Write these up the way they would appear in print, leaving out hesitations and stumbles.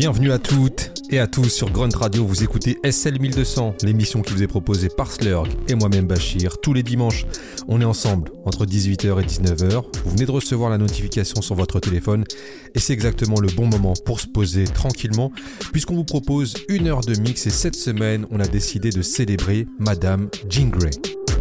Bienvenue à toutes et à tous sur Grunt Radio, vous écoutez SL 1200, l'émission qui vous est proposée par Slurg et moi-même Bachir. Tous les dimanches, on est ensemble entre 18h et 19h. Vous venez de recevoir la notification sur votre téléphone et c'est exactement le bon moment pour se poser tranquillement puisqu'on vous propose 1 heure de mix et cette semaine, on a décidé de célébrer Madame Jean Grae.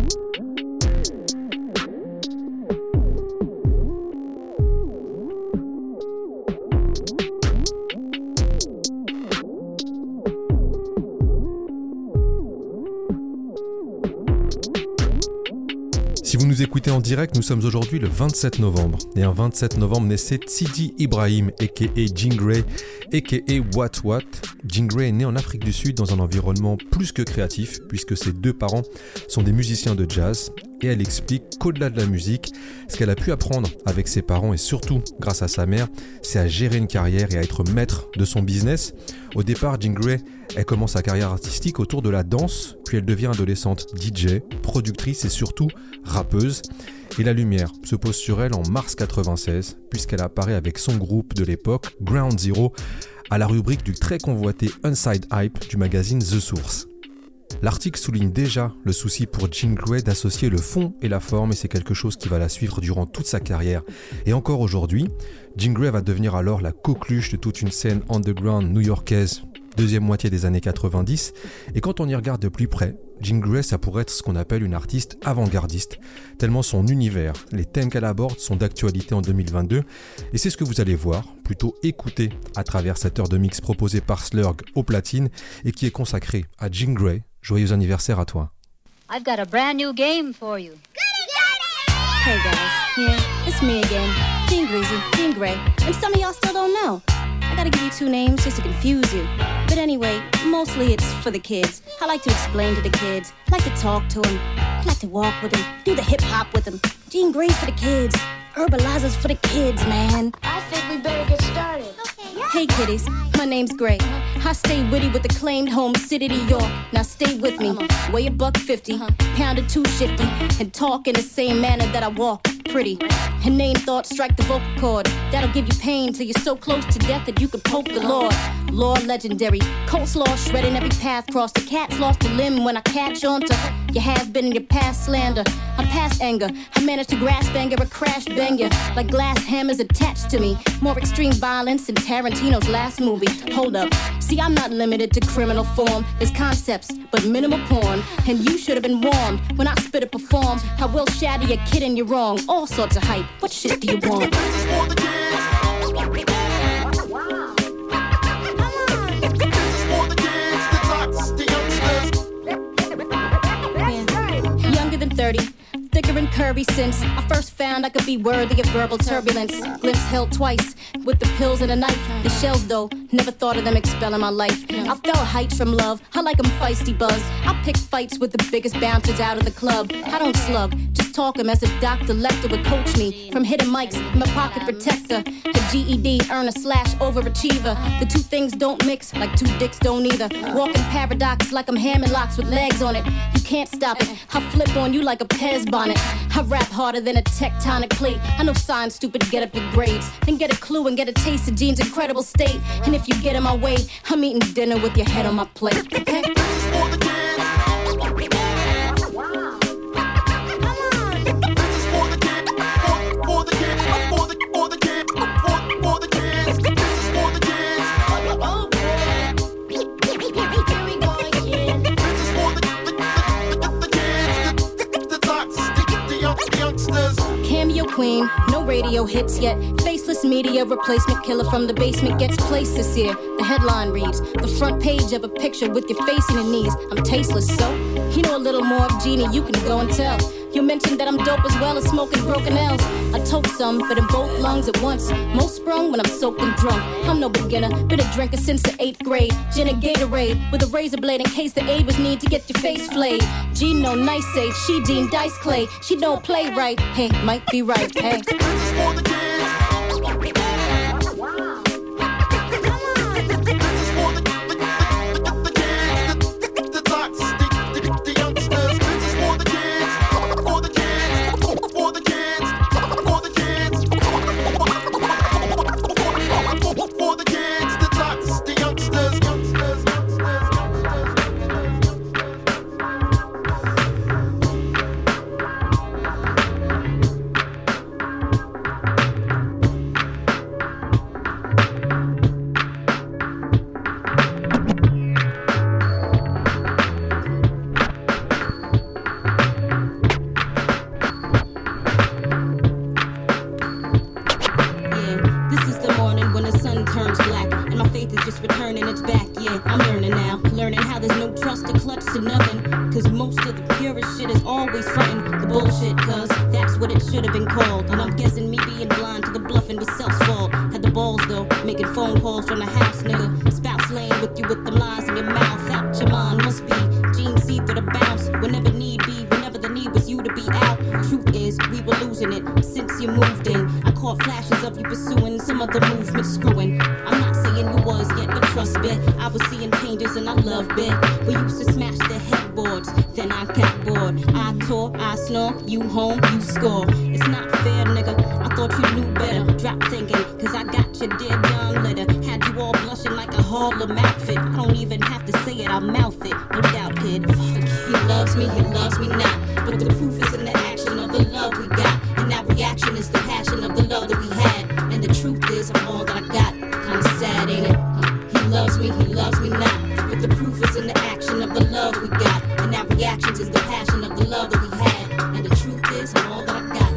Si vous nous écoutez en direct, nous sommes aujourd'hui le 27 novembre. Et un 27 novembre naissait Sidi Ibrahim, a.k.a. Jean Grae, a.k.a. What. Jean Grae est né en Afrique du Sud dans un environnement plus que créatif, puisque ses deux parents sont des musiciens de jazz. Et elle explique qu'au-delà de la musique, ce qu'elle a pu apprendre avec ses parents et surtout grâce à sa mère, c'est à gérer une carrière et à être maître de son business. Au départ, Jean Grae, elle commence sa carrière artistique autour de la danse, puis elle devient adolescente DJ, productrice et surtout rappeuse. Et la lumière se pose sur elle en mars 96, puisqu'elle apparaît avec son groupe de l'époque, Ground Zero, à la rubrique du très convoité Inside Hype du magazine The Source. L'article souligne déjà le souci pour Jean Grae d'associer le fond et la forme et c'est quelque chose qui va la suivre durant toute sa carrière. Et encore aujourd'hui, Jean Grae va devenir alors la coqueluche de toute une scène underground new-yorkaise, deuxième moitié des années 90. Et quand on y regarde de plus près, Jean Grae, ça pourrait être ce qu'on appelle une artiste avant-gardiste, tellement son univers, les thèmes qu'elle aborde sont d'actualité en 2022. Et c'est ce que vous allez voir, plutôt écouter à travers cette heure de mix proposée par Slurg au platine et qui est consacrée à Jean Grae. Joyeux anniversaire à toi. I've got a brand new game for you. Hey guys, yeah, it's me again, Jean Grae, and some of y'all still don't know. I gotta give you two names just to confuse you. But anyway, mostly it's for the kids. I like to explain to the kids. I like to talk to them. I like to walk with them. Do the hip hop with them. Jean Grae's for the kids. Herbalizers for the kids, man. I think we better get started. Hey kiddies, my name's Grae. I stay witty with acclaimed home city to York. Now stay with me. Weigh $150, pound of 250, and talk in the same manner that I walk. Pretty. Inane thoughts strike the vocal cord. That'll give you pain till you're so close to death that you could poke the Lord. Lord legendary. Coleslaw shredding every path crossed. The cat's lost a limb when I catch on to your has-been in your past slander. I'm past anger. I managed to grasp anger, a crash banger. Like glass hammers attached to me. More extreme violence than Tarantino's last movie. Hold up. See, I'm not limited to criminal form. There's concepts, but minimal porn. And you should have been warned. When I spit or perform, I will shatter your kid and you're wrong. All sorts of hype. What shit do you want? Yeah. Younger than 30. Thicker and curvy since I first found I could be worthy of verbal turbulence. Glimpse held twice with the pills and a knife. The shells though, never thought of them expelling my life. I fell heights from love, I like 'em feisty buzz. I pick fights with the biggest bouncers out of the club. I don't slug, just talk 'em as if Dr. Lecter would coach me. From hidden mics, my pocket protector. A GED, earner / overachiever. The two things don't mix, like two dicks don't either. Walking paradox like I'm hamming locks with legs on it. You can't stop it, I flip on you like a Pez bonnet. I rap harder than a tectonic plate. I know science stupid, get up your grades. Then get a clue and get a taste of Gene's incredible state. And if you get in my way, I'm eating dinner with your head on my plate. Okay? Cameo queen, no radio hits yet. Faceless media replacement killer from the basement gets placed this year. The headline reads, the front page of a picture with your face in your knees. I'm tasteless, so you know a little more of Jeannie, you can go and tell. You mentioned that I'm dope as well as smoking broken L's. I toke some, but in both lungs at once. Most sprung when I'm soaked and drunk. I'm no beginner, been a drinker since the 8th grade. Gin and Gatorade with a razor blade in case the aid was need to get your face flayed. G no nice age, she Dean Dice Clay. She don't play right, hey, might be right, hey. For the kids, the my faith is just returning, it's back, yeah, I'm learning now. Learning how there's no trust to clutch to nothing. Cause most of the purest shit is always frontin' the bullshit, cause that's what it should have been called. And I'm guessing me being blind to the bluffing was self's fault. Had the balls though, making phone calls from the house, nigga. Spouse laying with you with them lies in your mouth. Out your mind must be Gene C for the bounce. Whenever need be, whenever the need was you to be out. Truth is, we were losing it since you moved in. I caught flashes of you pursuing some other movement screwing. I'm not saying you was yet the trust bit. I was seeing changes and I loved it. We used to smash the headboards, then I got bored. I tore, I snore, you home, you score. It's not fair, nigga. I thought you knew better. Drop thinking, cause I got your dear John letter. Had you all blushing like a Harlem outfit. I don't even have to say it, I'll mouth it. No doubt, kid. He loves me not. But the proof is in the action of the love we got. And that reaction is the passion of the love that we had. And the truth is, I'm all that I got. Kinda sad, ain't it? He loves me not. But the proof is in the action of the love we got. And that reaction is the passion of the love that we had. And the truth is, I'm all that I got.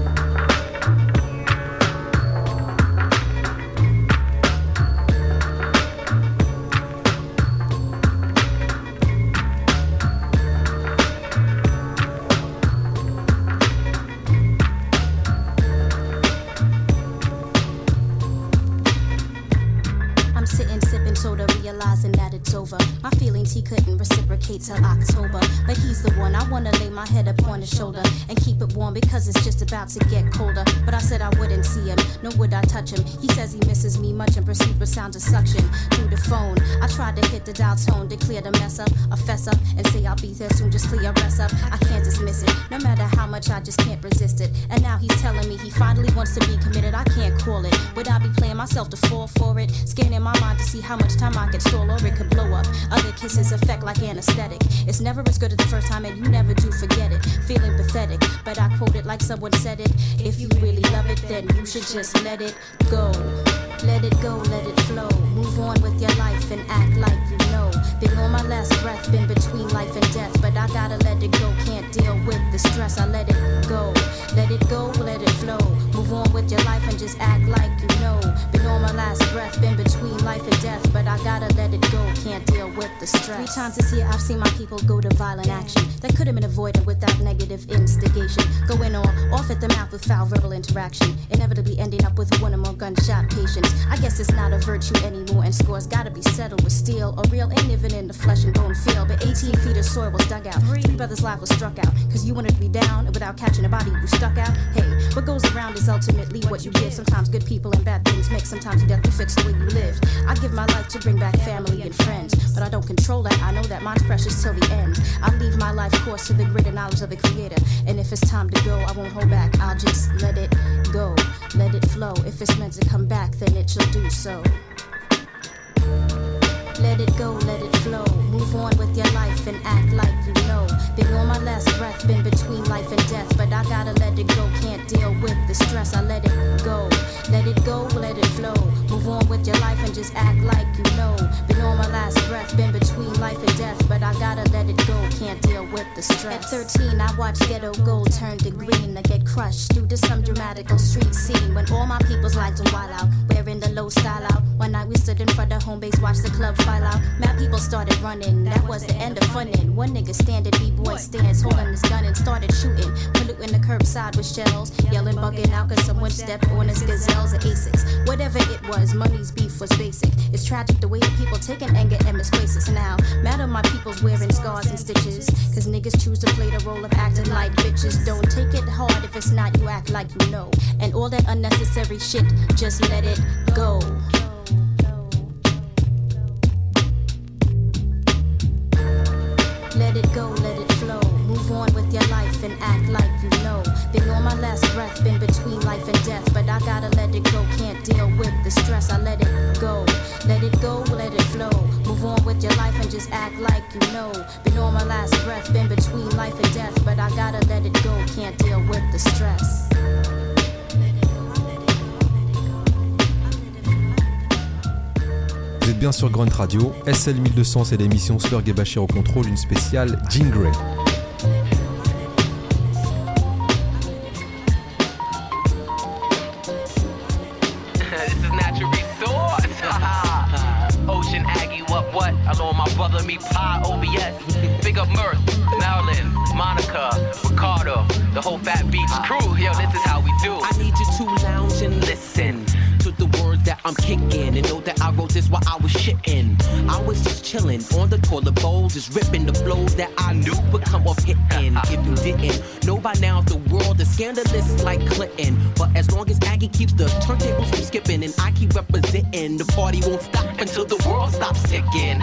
Realizing that it's over. My feelings he couldn't reciprocate till October. But he's the one I wanna lay my head up on his shoulder and keep it warm because it's just about to get colder. But I said I wouldn't see him, nor would I touch him. He says he misses me much and proceeds with sounds of suction through the phone. I tried to hit the dial tone to clear the mess up, a fess up, and say I'll be there soon, just clear your rest up. I can't dismiss it, no matter how much I just can't resist it. And now he's telling me he finally wants to be committed. I can't call it. Would I be playing myself to fall for it? Scanning my mind to see how much time I can stall or it could blow up. Other kisses affect like anesthetic. It's never as good as the first time and you never do forget it. Feeling pathetic, but I quote it like someone said it. If you really love it, then you should just let it go. Let it go, let it flow. Move on with your life and act like you know. Been on my last breath, been between life and death. But I gotta let it go, can't deal with the stress. I let it go, let it go, let it flow. Move on with your life and just act like you know. Been on my last breath, been between life and death. But I gotta let it go, can't deal with the stress. 3 times this year I've seen my people go to violent action that could have been avoided without negative instigation. Going on, off at the mouth with foul verbal interaction, inevitably ending up with one or more gunshot patients. I guess it's not a virtue anymore, and scores gotta be settled with steel or real, ain't living in the flesh and bone feel. But 18 feet of soil was dug out, 3 brothers' lives was struck out, cause you wanted to be down, and without catching a body you stuck out. Hey, what goes around is ultimately what you give. Sometimes good people and bad things make, sometimes you have to fix the way you live. I give my life to bring back family and friends, but I don't control that, I know that mine's precious till the end. I leave my life course to the greater knowledge of the Creator, and if it's time to go, I won't hold back, I'll just let it go, let it flow. If it's meant to come back, then it shall do so. Let it go, let it flow. Move on with your life and act like you know. Been on my last breath, been between life and death. But I gotta let it go, can't deal with the stress. I let it go, let it go, let it flow. Move on with your life and just act like you know. Been on my last breath, been between life and death. But I gotta let it go, can't deal with the stress. At 13, I watched ghetto gold turn to green. I get crushed due to some dramatical street scene. When all my people's lights are wild out, wearing the low style out. One night we stood in front of home base, watched the club file out. Mad people started running, that was the end of funnin'. One nigga standing, B-boy stands, holding his gun and started shooting. Polluting the curbside with shells, yelling, bugging out cause someone stepped on his gazelles or Asics. Whatever it was, money's beef was basic. It's tragic the way the people taking anger and misplace it. Now, mad at my people's wearing scars and stitches, cause niggas choose to play the role of acting like bitches. Don't take it hard if it's not, you act like you know. And all that unnecessary shit, just let it go. Let it go, let it flow. Move on with your life and act like you know. Been on my last breath, been between life and death. But I gotta let it go, can't deal with the stress. I let it go, let it go, let it flow. Move on with your life and just act like you know. Been on my last breath, been between life and death. But I gotta let it go, can't deal with the stress. Vous êtes bien sur Grunt Radio, SL 1200, c'est l'émission Slurg et Bachir au contrôle, une spéciale Jean Grey. what? Along my brother, me, Pi, OBS. Big up Mirth, Marilyn, Monica, Ricardo, the whole Fat Beats crew. Yo, this is how we do. I need you to lounge and listen to the words that I'm kicking, and know that I wrote this while I was shitting. I was just chilling on the toilet bowl, just ripping the flows that I knew would come off hitting. If you didn't know by now, the world is scandalous like Clinton. But as long as Aggie keeps the turntables from skipping and I keep representing, the party won't stop until the world stops ticking.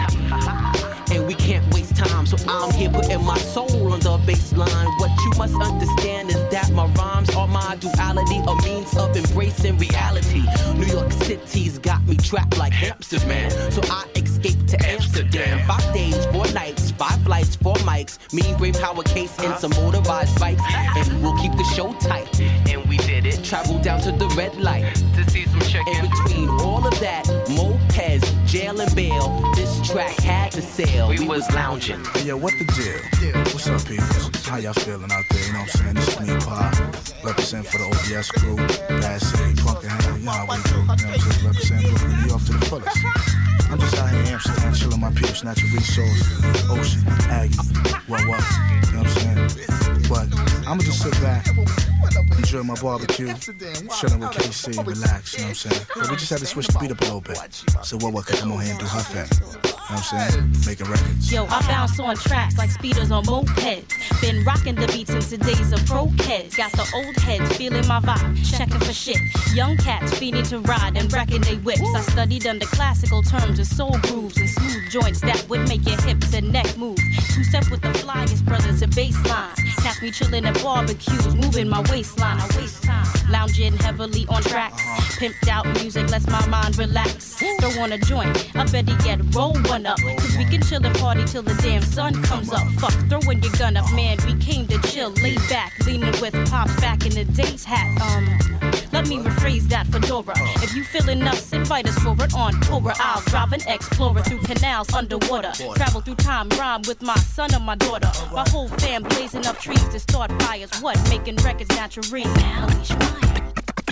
And we can't waste time, so I'm here putting my soul on the baseline. What you must understand is that my rhymes are my duality, a means of embracing reality. New York City's got me trapped like hamsters, man. So I escaped to Amsterdam. 5 days, 4 nights, 5 flights, 4 mics. Me, Brain Power Case, and some motorized bikes. And we'll keep the show tight. And we did it. Travel down to the red light to see some chicken. In between all of that, mopeds, jail and bail, this track had to sell. We was lounging. Hey, yo, what the deal? What's up, people? How y'all feeling out there? You know what I'm saying? This is me, Pi, represent for the OBS crew, Bad City, Punkenham, you know how we do. You know what I'm saying? Represent Brooklyn, New York to the fullest. I'm just out here in Amsterdam, chilling my peeps, natural resource, Ocean, Aggie, what, you know what I'm saying? But I'ma just sit back, enjoy my barbecue, chilling with KC, relax, you know what I'm saying? But we just had to switch the beat up a little bit. So what could come on here and do her thing? You know what I'm saying? Making records. Yo, I bounce on tracks like speeders on mopeds. Been rocking the beat since the days of pro kids. Got the old heads feeling my vibe, checking for shit. Young cats feeding to ride and wrecking they whips. I studied under classical terms of soul grooves and smooth joints that would make your hips and neck move. 2-step with the flyest brothers and baseline. Catch me chilling at barbecues, moving my waistline. I waste time, lounging heavily on tracks. Pimped out music lets my mind relax. Throw on a joint, I better get roll one up. Cause we can chill and party till the damn sun comes up. Fuck, throwing your gun up, man, we came to chill. Lay back, leaning with pops back in the day's hat. Let me rephrase that for Dora. If you feeling us, invite us for it on Cobra. I'll drive an Explorer through canals underwater. Travel through time, rhyme with my son or my daughter. My whole fam blazing up trees to start fires. What? Making records natural. Now unleash mine.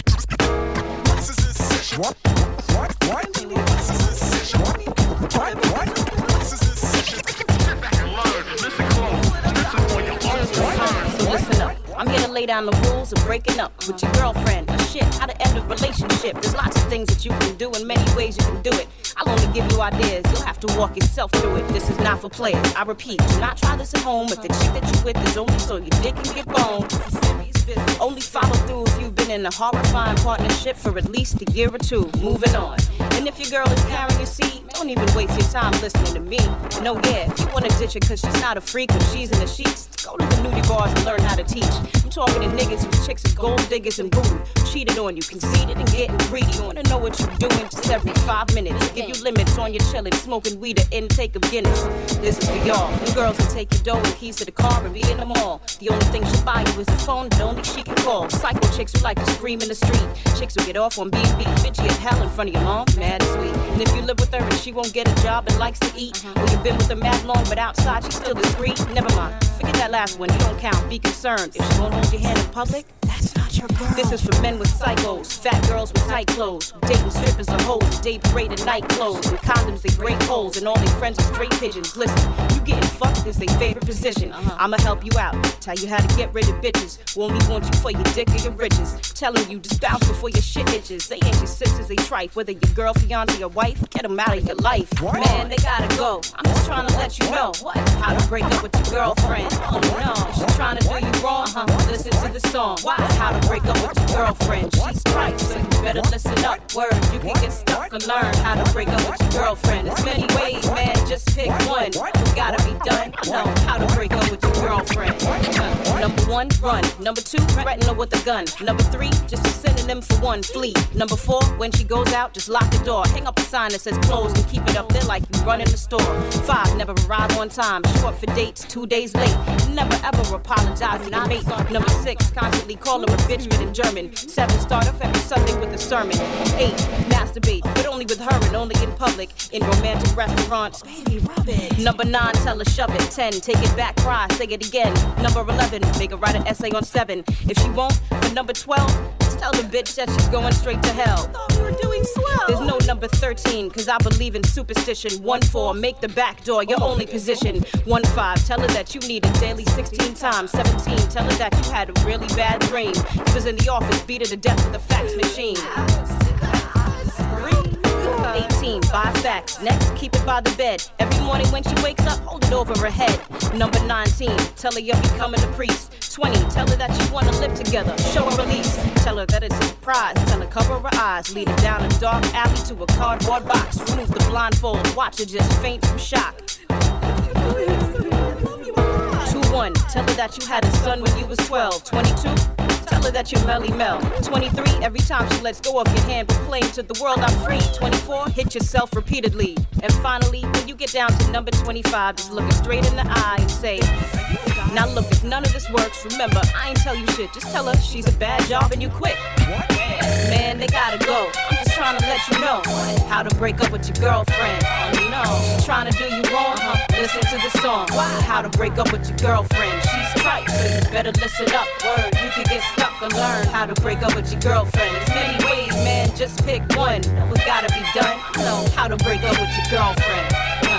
What? So listen up. I'm here to lay down the rules of breaking up with your girlfriend. Shit, how to end a relationship. There's lots of things that you can do, in many ways you can do it. I'll only give you ideas. You'll have to walk yourself through it. This is not for players. I repeat, do not try this at home. If the chick that you with is only so your dick can get boned. Only follow through if you've been in a horrifying partnership for at least a year or two. Moving on. And if your girl is carrying your seed, don't even waste your time listening to me. No, yeah, if you want to ditch her cause she's not a freak when she's in the sheets, go to the nudie bars and learn how to teach. I'm talking to niggas whose chicks are gold diggers and booty, cheated on you, conceited and getting greedy. You wanna know what you're doing just every 5 minutes. Give you limits on your chillin', smoking weed or intake of Guinness. This is for y'all. Them girls will take your dough and keys to the car and be in the mall. The only thing she'll buy you is a phone that only she can call. Psycho chicks who like to scream in the street. Chicks who get off on B&B, bitchy as hell in front of your mom, mad and sweet. And if you live with her and she won't get a job and likes to eat, or you've been with her mad long but outside she's still discreet, never mind. Forget that last one, you don't count. Be concerned. If she won't hold your hand in public, that's not your girl. This is for men with psychos, fat girls with tight clothes, dating strippers or hoes, day parade and night clothes, and condoms they break holes, and all their friends are straight pigeons. Listen, you getting fucked is their favorite position. I'ma help you out, tell you how to get rid of bitches who only want you for your dick or your riches. Telling you just bounce before your shit itches. They ain't your sisters, they trife. Whether your girl, fiance, or wife, get them out of your life. What? Man, they gotta go. I'm just trying to let you know how to break up with your girlfriend. Oh no, if she's trying to do you wrong, listen to the song. How to break up with your girlfriend. She's trife, so you better listen up. Word, you can get stuck and learn how to break up with your girlfriend. There's many ways, man, just pick one. You gotta be done. Know how to break up with your girlfriend. Number 1, run. Number 2, threaten her with a gun. Number 3, just a synonym for 1, flee. Number 4, when she goes out, just lock the door. Hang up a sign that says closed and keep it up there like you run in the store. 5, never arrive on time. Short for dates, 2 days late. Never ever apologize to your mate. Number 6, constantly call her a bitch but in German. 7, start off every Sunday with a sermon. 8, masturbate, but only with her and only in public. In romantic restaurants, baby, rub it. Number 9, tell her shove it. 10, take it back, cry, say it again. Number 11, make her write an essay on 7. If she won't, for number 12, just tell the bitch that she's going straight to hell. Thought we were doing There's no number 13, cause I believe in superstition. 1-4, make the back door your only position. 1-5, tell her that you need it daily 16 times. 17, tell her that you had a really bad dream. He was in the office, beat her to death with a fax machine. 18, buy facts. Next, keep it by the bed. Every morning when she wakes up, hold it over her head. Number 19, tell her you're becoming a priest. 20, tell her that you wanna live together. Show her release. Tell her that it's a surprise. Tell her cover her eyes. Lead her down a dark alley to a cardboard box. Remove the blindfold. Watch her just faint from shock. 21, tell her that you had a son when you was 12. 22, tell her that you're Melly Mel. 23, every time she lets go of your hand, proclaim to the world I'm free. 24, hit yourself repeatedly. And finally, when you get down to number 25, just look her straight in the eye and say, now look, if none of this works, remember, I ain't tell you shit. Just tell her she's a bad job and you quit. Man, they gotta go. I'm just trying to let you know how to break up with your girlfriend. You know, she's trying to do you wrong. Listen to the song. How to break up with your girlfriend. She's trite, so you better listen up. Word, you can get stuck and learn how to break up with your girlfriend. There's many ways, man, just pick one. What gotta be done? Know how to break up with your girlfriend.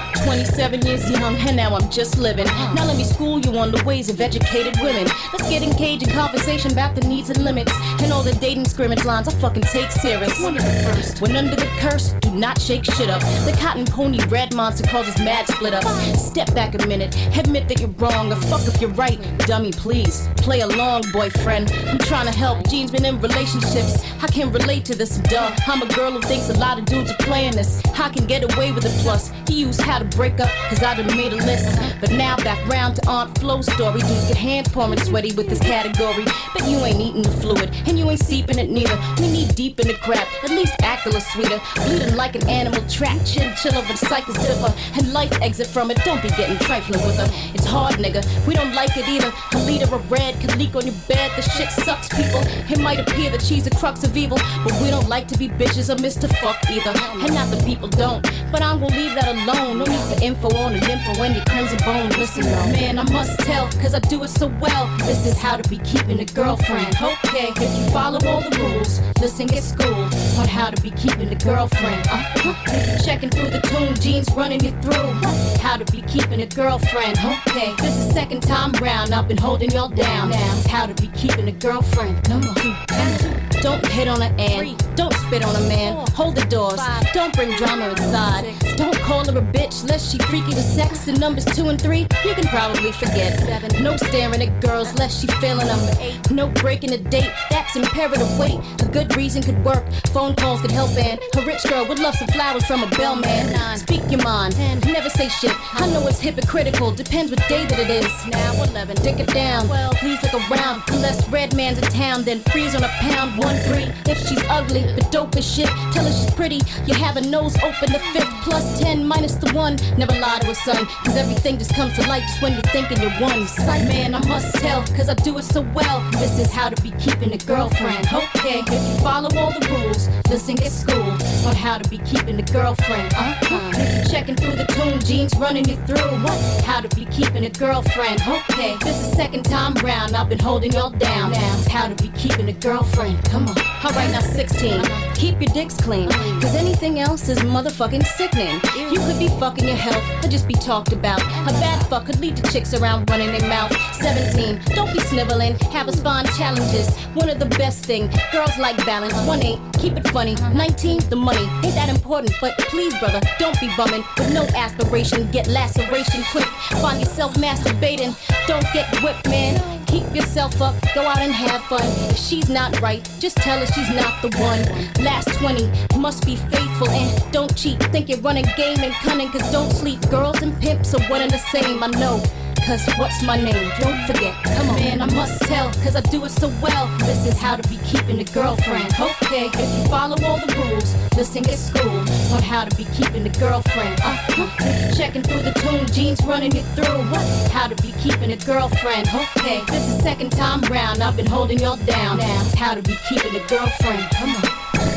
27 years young, and now I'm just living. Now let me school you on the ways of educated women. Let's get engaged in conversation about the needs and limits. And all the dating scrimmage lines I fucking take serious. One of the first, when under the curse, do not shake shit up. The cotton pony red monster causes mad split ups. Step back a minute, admit that you're wrong. Or fuck if you're right, dummy please. Play along, boyfriend. I'm trying to help, Gene's been in relationships. I can relate to this, duh. I'm a girl who thinks a lot of dudes are playing this. I can get away with it plus. He used how to break up, cause I done made a list. But now back round to Aunt Flo's story. Dudes get hands pouring sweaty with this category. But you ain't eating the fluid, and you ain't seeping it neither. We need deep in the crap, at least act a little sweeter. Bleeding like an animal trapped, chinchilla but cycles differ. And life exit from it, don't be getting trifling with her. It's hard, nigga, we don't like it either. A liter of red can leak on your bed, the shit sucks, people. It might appear that she's a crux of evil, but we don't like to be bitches or Mr. Fuck either. And not the people don't, but I'm gonna leave that alone. No need for info on an info when your crimson bone. Listen, man, I must tell, cause I do it so well. This is how to be keeping a girlfriend. Okay, if you follow all the rules, listen, get schooled on how to be keeping a girlfriend. If you're checking through the tune, Gene's running you through how to be keeping a girlfriend. Okay, this is second time round, I've been holding y'all down. It's how to be keeping a girlfriend. Come on. Don't hit on an ant, don't spit on a man, hold the doors, don't bring drama inside. Don't call her a bitch lest she freaky with sex. And numbers 2 and 3, you can probably forget. 7, no staring at girls lest she feeling them. 8, no breaking a date, that's imperative weight. A good reason could work, phone calls could help, and a rich girl would love some flowers from a bellman. 9, speak your mind, 10, never say shit. I know it's hypocritical, depends what day that it is. Now 11, dick it down, 12, please look around. Unless red man's in town, then freeze on a pound. 1, 3, if she's ugly but dope as shit, tell her she's pretty, you have a nose open. The 5th, plus 10 minus the 1, never lie to a son, cause everything just comes to light just when you're thinking you're one. Sight man, I must tell, cause I do it so well. This is how to be keeping a girlfriend. Okay, if you follow all the rules, listen, get schooled on how to be keeping a girlfriend. If you're checking through the tune, Gene's running you through how to be keeping a girlfriend. Okay, this is second time round, I've been holding y'all down. It's how to be keeping a girlfriend. Come on. Alright, now 16, keep your dicks clean, cause anything else is motherfucking sickening. You could be fucking your health or just be talked about. A bad fuck could lead to chicks around running their mouth. 17, don't be sniveling, have us find challenges. One of the best thing, girls like balance. 18, keep it funny. 19, the money ain't that important, but please brother, don't be bumming with no aspiration. Get laceration quick, find yourself masturbating. Don't get whipped, man. Keep yourself up, go out and have fun. If she's not right, just tell her she's not the one. Last 20, must be faithful and don't cheat. Think you're running game and cunning, cause don't sleep. Girls and pimps are one and the same, I know. Cause what's my name? Don't forget. Come on, man, I must tell, cause I do it so well. This is how to be keeping a girlfriend. Okay, if you follow all the rules, listen, get schooled on how to be keeping a girlfriend. If you're checking through the tune, Gene's running you through how to be keeping a girlfriend. Okay, this is second time round, I've been holding y'all down. It's how to be keeping a girlfriend. Come on.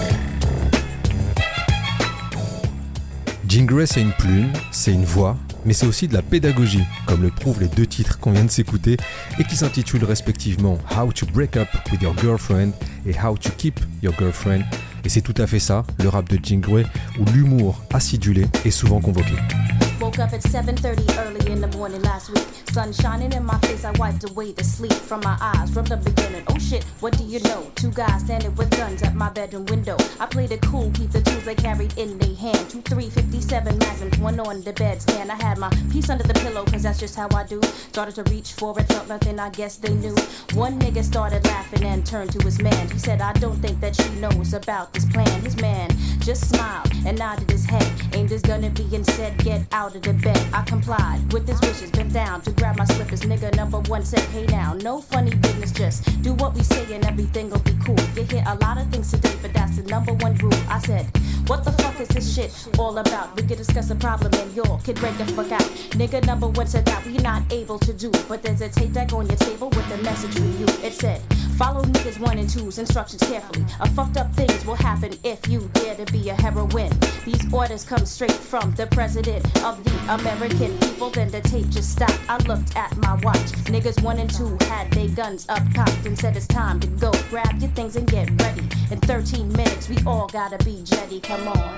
Jean Grae, c'est une plume, c'est une voix, mais c'est aussi de la pédagogie, comme le prouvent les 2 titres qu'on vient de s'écouter et qui s'intitulent respectivement How to Break Up with Your Girlfriend et How to Keep Your Girlfriend. Et c'est tout à fait ça, le rap de Jingray, où l'humour acidulé est souvent convoqué. Woke up at 7:30 early in the morning last week. Sun shining in my face, I wiped away the sleep from my eyes from the beginning. Oh shit, what do you know? Two guys standing with guns at my bedroom window. I played it cool, keep the tools they carried in their hand. 2 357 magnums, one on the bedstand. I had my piece under the pillow, cause that's just how I do. Started to reach for it, felt nothing, I guess they knew. One nigga started laughing and turned to his man. He said, I don't think that she knows about this plan. His man just smiled and nodded his head, aimed his gun at me and said, get out of the bed. I complied with his wishes, bent down to grab my slippers. Nigga number one said, hey now, no funny business, just do what we say and everything will be cool. You hear a lot of things today, but that's the number one rule. I said, what the fuck is this shit all about? We could discuss a problem and y'all could break the fuck out. Nigga number one said that we not able to do, but there's a tape deck on your table with a message for you. It said, follow niggas 1 and 2's instructions carefully. A fucked up things will happen if you dare to be a heroine. These orders come straight from the president of the American people. Then the tape just stopped. I looked at my watch. Niggas 1 and 2 had their guns up cocked and said it's time to go. Grab your things and get ready. In 13 minutes, we all gotta be jetty. Come on.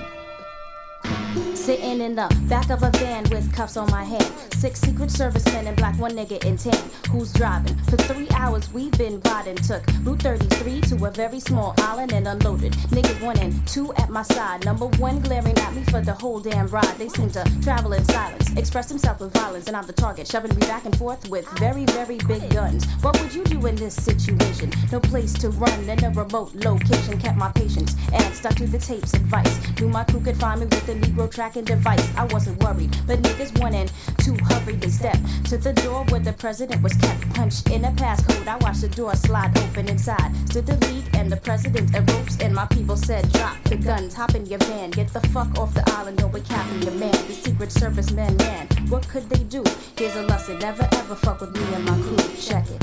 Sitting in the back of a van with cuffs on my hand. 6 Secret Service men in black, 1 nigga in tan. Who's driving? For 3 hours we've been riding. Took Route 33 to a very small island and unloaded. Niggas 1 and 2 at my side. Number 1 glaring at me for the whole damn ride. They seem to travel in silence, express themselves with violence, and I'm the target, shoving me back and forth with very, very big guns. What would you do in this situation? No place to run in a remote location. Kept my patience and stuck to the tape's advice. Knew my crew could find me with the Negro tracking device. I wasn't worried, but niggas 1 and 2 hurried and stepped to the door where the president was kept. Punched in a passcode, I watched the door slide open inside. Stood the league and the president and ropes, and my people said, drop the guns, hop in your van, get the fuck off the island, or we're capping your man. The Secret Service men, man, what could they do? Here's a lesson, never ever fuck with me and my crew. Check it.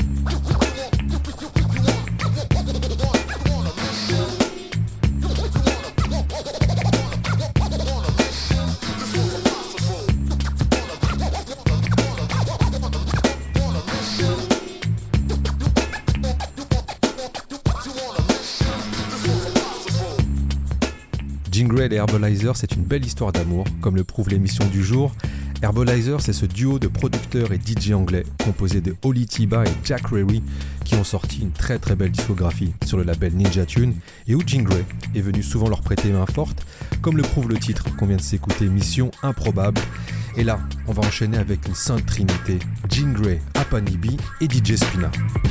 Jingray et Herbalizer, c'est une belle histoire d'amour, comme le prouve l'émission du jour. Herbalizer, c'est ce duo de producteurs et DJ anglais composé de Oli Tiba et Jack Rary qui ont sorti une très très belle discographie sur le label Ninja Tune et où Jingray est venu souvent leur prêter main forte, comme le prouve le titre qu'on vient de s'écouter, Mission Improbable. Et là, on va enchaîner avec une sainte trinité, Jingray, Apanibi et DJ Spina.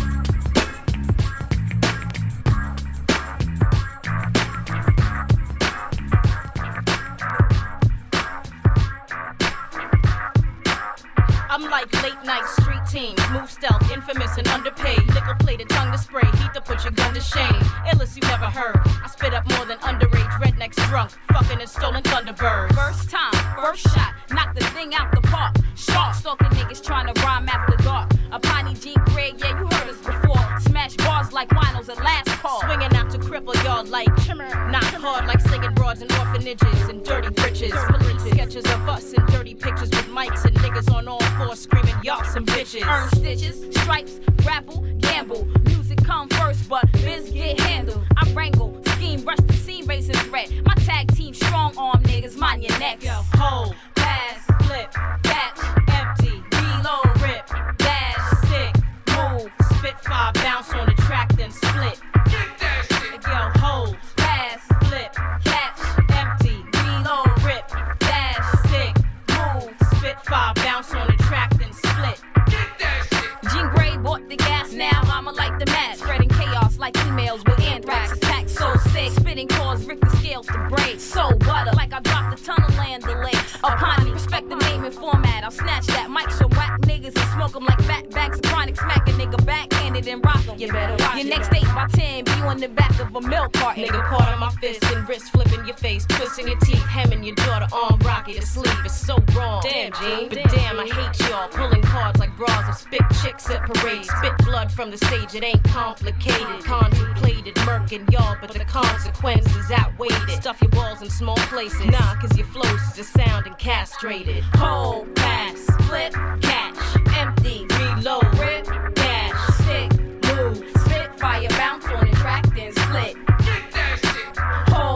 I'm like late night street teams, move stealth, infamous and underpaid. Liquor plated, tongue to spray, heat to put your gun to shame. Illest you never heard. I spit up more than underage rednecks drunk, fucking and stolen Thunderbirds. First time, first shot, knock the thing out the park. Shark stalking niggas trying to rhyme after dark. A Piney Jingray, yeah, you heard us before. Smash bars like winos at last call. Swinging out to cripple y'all like Chimmer. Knock hard like singing broads in orphanages and dirty britches. Police sketches of us and dirty pictures with mics and niggas on all fours screaming y'all some bitches. Earn stitches, stripes, grapple, gamble. Music come first, but biz get handled. I wrangle, scheme, rush the scene, raising threat. My tag team strong arm niggas, mind your necks. Yo, hold, pass, flip, catch, empty, reload, rip, dash, sick, move, spit fire, bounce on the track, then split. Get that shit. Yo, hold, pass, flip, catch, empty, reload, rip, dash, sick, move, spit fire, bounce on the track, then split. Get that shit. Jingray bought the gas, now I'ma light the match, spreading chaos like emails with anthrax. Attack so sick, spitting cause Rick the scales to break. So butter, like I dropped a ton of land delay. Upon me, respect the name and format. I'll snatch that mic, some whack niggas and smoke them like fat bags of chronic. Smack a nigga backhanded and rock them. You better watch your next 8 by 10 be on the back of a milk carton. Nigga caught on my fist and wrist flipping your face, twisting your teeth, hemming your daughter arm, rocket to sleep. It's so wrong. Damn, Gene. But damn, I hate y'all. Pulling cards like bras of spit chicks at parades. Spit blood from the stage, it ain't complicated. Contemplated, murking y'all, but the consequences outweighed it. Stuff your balls in small places. Nah, cause your flows is just sounding castrated. Hold, pass, flip, catch, empty, reload, rip, dash, sick, move, spit, fire, bounce on the track, then split. Get that shit. Hold,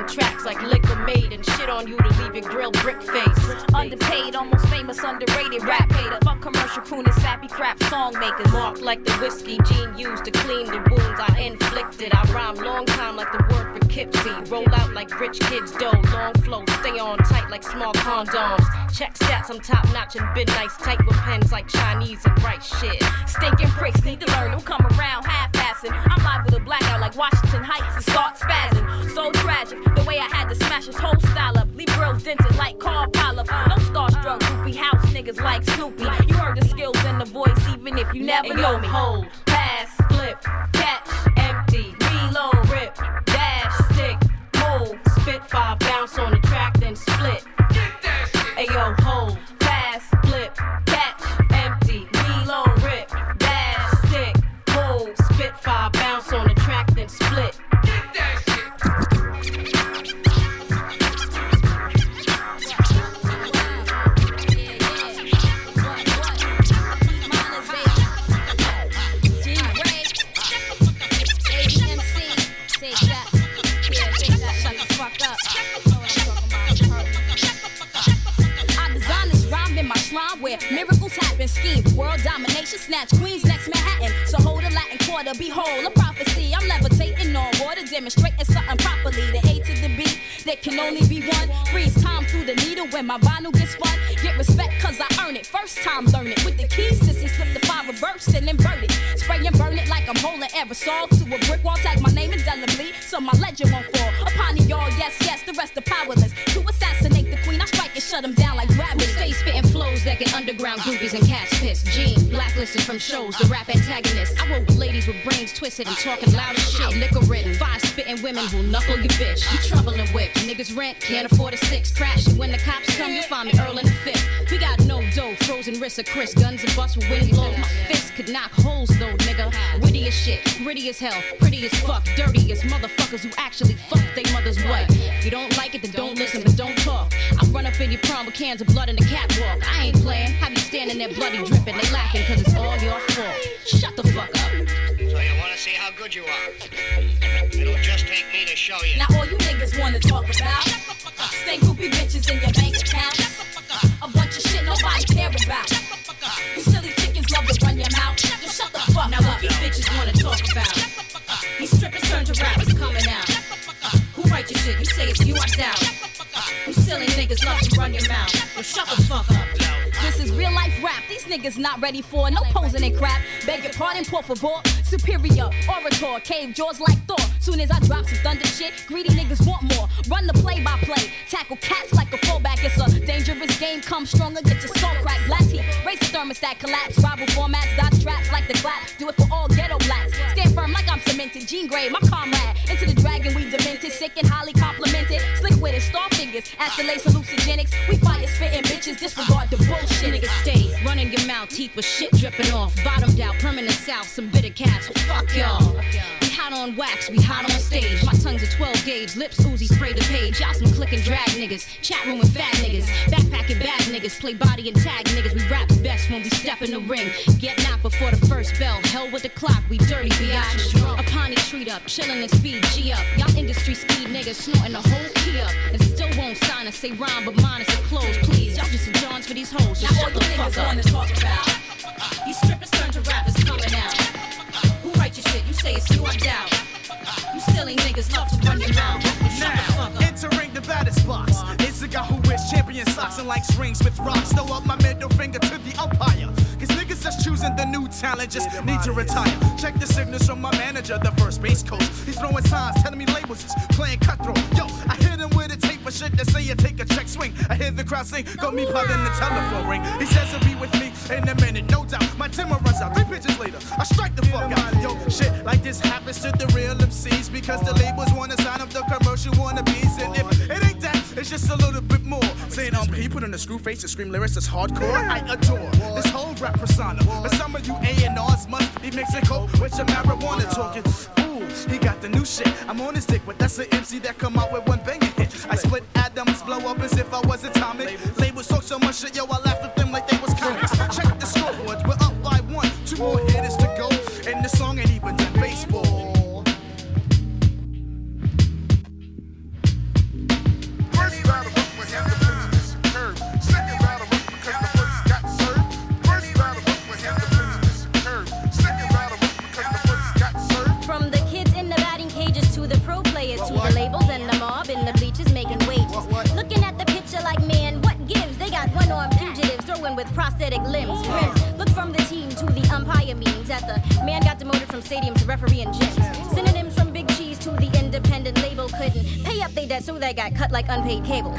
spitting tracks like liquor made and shit on you to leave your grill brick face. Underpaid, almost famous, underrated rap hater. Fuck commercial crooners, sappy crap song makers. Marked like the whiskey Gene used to clean the wounds I inflicted. I rhyme long time like the word Poughkeepsie. Roll out like rich kids dough. Long flow, stay on tight like small condoms. Check stats, I'm top notch and been nice. Tight with pens like Chinese and write shit. Stinking pricks need to learn, don't come around half-assing. I'm live with a blackout like Washington Heights and start spazzing. So tragic, the way I had to smash his whole style up. Leave grills dented like car pileup. No starstruck, goopy house niggas like Snoopy. You heard the skills and the voice even if you never know me. Hold, pass, flip, catch, empty, reload, rip, dash, stick, move, spit, 5 bounce on the track, then split. Ayo, hold, pass, flip, catch, empty, reload, rip, dash, stick, move, spit, 5 bounce on the track, then split. Where miracles happen, scheme, world domination, snatch queens next Manhattan. So hold a Latin quarter, behold a prophecy. I'm levitating on water, demonstrating something properly. The A to the B, there can only be one. Freeze time through the needle when my vinyl gets spun. Get respect cause I earn it, first time learn it. With the keys, sissy, slip the 5 reverse and invert it. Spray and burn it like I'm holding aerosol to a brick wall. Tag my name indelibly so my legend won't fall. Upon y'all, yes, yes, the rest are powerless. To assassinate the queen, I strike and shut them down like gravity. Stay spitting flows that get underground groupies and cats pissed. Gene, blacklisted from shows, the rap antagonist. I roll with ladies with brains twisted and talking loud as shit. Liquor written, 5 spitting women who'll knuckle your bitch. You troubling whips, niggas rent, can't afford a 6. Crashing when the cops come, you'll find me Earl in the 5th. We got no dough, frozen wrists of Chris, guns and busts with windy blows. My fist could knock holes though, nigga. Witty as shit, gritty as hell, pretty as fuck, dirty as motherfuckers who actually fuck they mother's wife. If you don't like it, then don't listen, but don't talk. I run up in your prom with cans of blood in the catwalk. I ain't playing, have you standing there bloody dripping. They laughing cause it's all your fault. Shut the fuck up. So you wanna see how good you are? It'll just take me to show you. Now all you niggas wanna talk about stay groupie bitches in your bank account. A bunch of shit nobody care about. You silly chickens love to run your mouth. Just shut the fuck now up. Now what these bitches wanna talk about? These strippers turn to rappers coming out. Who write your shit? You say it's you, I doubt. You silly niggas love to run your mouth. Well, shut the fuck up. This is real life rap. These niggas not ready for no posing and crap. Beg your pardon, por favor. Superior orator, cave jaws like Thor. Soon as I drop some thunder shit, greedy niggas want more. Run the play-by-play, tackle cats like a fullback. It's a dangerous game. Come stronger, get your skull cracked. Blast heat, race the thermostat, collapse. Rival formats, dodge traps like the clap. Do it for all ghetto blacks. Stand firm like I'm cemented. Gene Gray, my comrade. Into the dragon, we demented, sick and highly complimented. Slick with it, star figures, acetates hallucinogenics. We fire spitting bitches, disregard the bullshit. Niggas stay running your mouth, teeth with shit dripping off. Bottomed out, permanent south, some bitter cats. Well, fuck y'all. We hot on wax, we hot on stage. My tongue's a 12 gauge, lips oozy, spray the page. Y'all some click and drag niggas, chat room with fat niggas, backpacking bad niggas, play body and tag niggas. We rap best when we step in the ring. Get knocked before the first bell. Hell with the clock, we dirty biatch. A pony treat up, chillin' and speed G up. Y'all industry speed niggas snorting the whole key up, and still won't sign us. Say rhyme, but mine is a close. Please, y'all just Johns for these hoes. So shut the fuck up. Talk about. These strippers turn to rappers coming out. Who write your shit? You say it's you, I doubt. You silly niggas love to run your mouth. Shut the fuck up. Entering the baddest box. It's a guy who wears champion socks and likes rings with rocks. Throw up my middle finger to the umpire. Cause niggas just choosing the new talent just need to retire. Check the signals from my manager, the first base coach. He's throwing signs, telling me labels is playing cutthroat. Yo, I hit him with a tape of shit that say you take a check swing. I hear the crowd sing, got me pot in the telephone ring. He says he'll be with me in a minute, no doubt. My timber runs out, 3 pitches later, I strike the fuck out. Yo, shit like this happens to the real MCs because the labels wanna sign up the commercial wannabes. And if it ain't that, it's just a little bit more. Saying he put on a screw face and scream lyrics that's hardcore. I adore this whole rap persona. But some of you A&Rs must be mixing coke with your marijuana talking. Ooh, he got the new shit. I'm on his dick, but that's an MC that come out with one banger hit. I split atoms, blow up as if I was atomic. Labels talk so much shit, yo, I laugh at them like they was comics. Check the scoreboard, we're up by 1. 2 more hitters to go, and the song ain't even done baseball. from stadiums to referee and gyms. Synonyms from Big Cheese to the independent label couldn't pay up their debt, so they got cut like unpaid cable.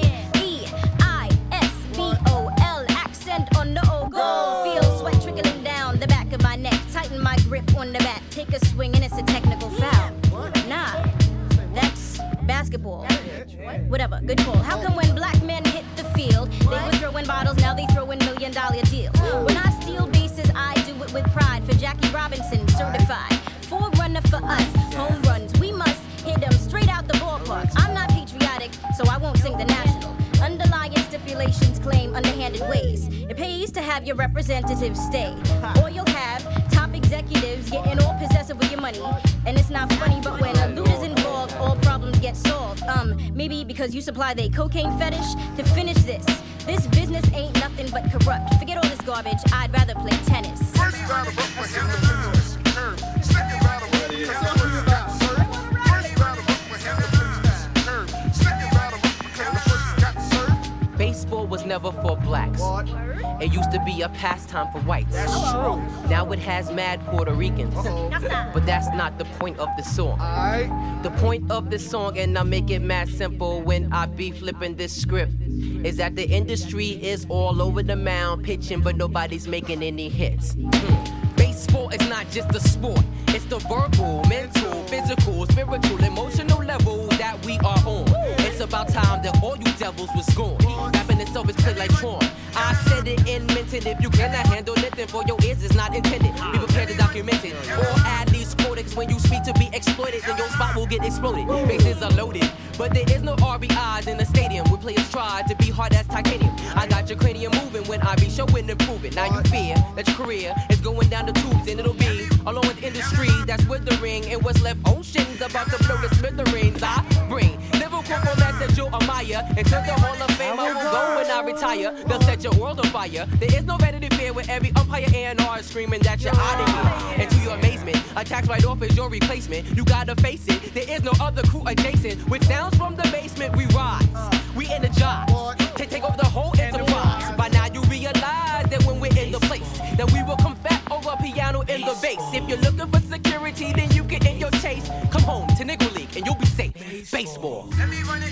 B-E-I-S-B-O-L, accent on the O goal. Feel sweat trickling down the back of my neck. Tighten my grip on the bat. Take a swing and it's a technical foul. Nah, that's basketball. Whatever, good call. How come when black men hit the field, they were throwing bottles, now they throwing $1 million deals? When I steal bases, I do it with pride. For Jackie Robinson, certified. Forerunner for us, home runs. We must hit them straight out the ballpark. I'm not patriotic, so I won't sing the national. Underlying stipulations claim underhanded ways. It pays to have your representatives stay. Or you'll have top executives getting all possessive with your money. And it's not funny, but when a loot is involved, all problems get solved. Maybe because you supply the cocaine fetish. To finish this business ain't nothing but corrupt. Forget all this garbage, I'd rather play tennis. First battle up my hand to finish the curve. Second battle up because the first got served. First battle up my hand to finish the curve. Second battle up because the first got served. Baseball was never for blacks. It used to be a pastime for whites. That's true. Now it has mad Puerto Ricans. But that's not the point of the song. The point of the song, and I make it mad simple when I be flipping this script, is that the industry is all over the mound pitching, but nobody's making any hits. Baseball is not just a sport. It's the verbal, mental, physical, spiritual, emotional level that we are on. It's about time that all you devils was gone. Rapping itself is played like Tron. I said it and meant it. If you cannot handle it, then for your ears it's not intended. Be prepared to document it. Or add these codecs when you speak to be exploited, then your spot will get exploded. Bases are loaded, but there is no RBIs in the stadium. Where players try to be hard as titanium. I got your cranium moving when I be showing and proving. Now you fear that your career is going down the tubes, and it'll be along with industry that's withering, and what's left oceans about to blow the smithereens. I bring Liverpool formats that Joe Amaya into the Hall of Fame. I will go when I retire. They'll set your world on fire. There is no Vanity Fair where every umpire A&R is screaming that you're out of here. And to your amazement, a tax write-off is your replacement. You gotta face it, there is no other crew adjacent. With sounds from the basement, we rise, we energize to take over the whole enterprise. By now you realize that when we're in the place, that we will come fat over piano in the bass. If you're looking for security, then you can end your chase. Come home to Negro League and you'll be safe. Baseball. Let me run it.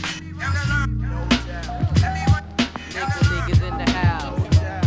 Negro League is in the house.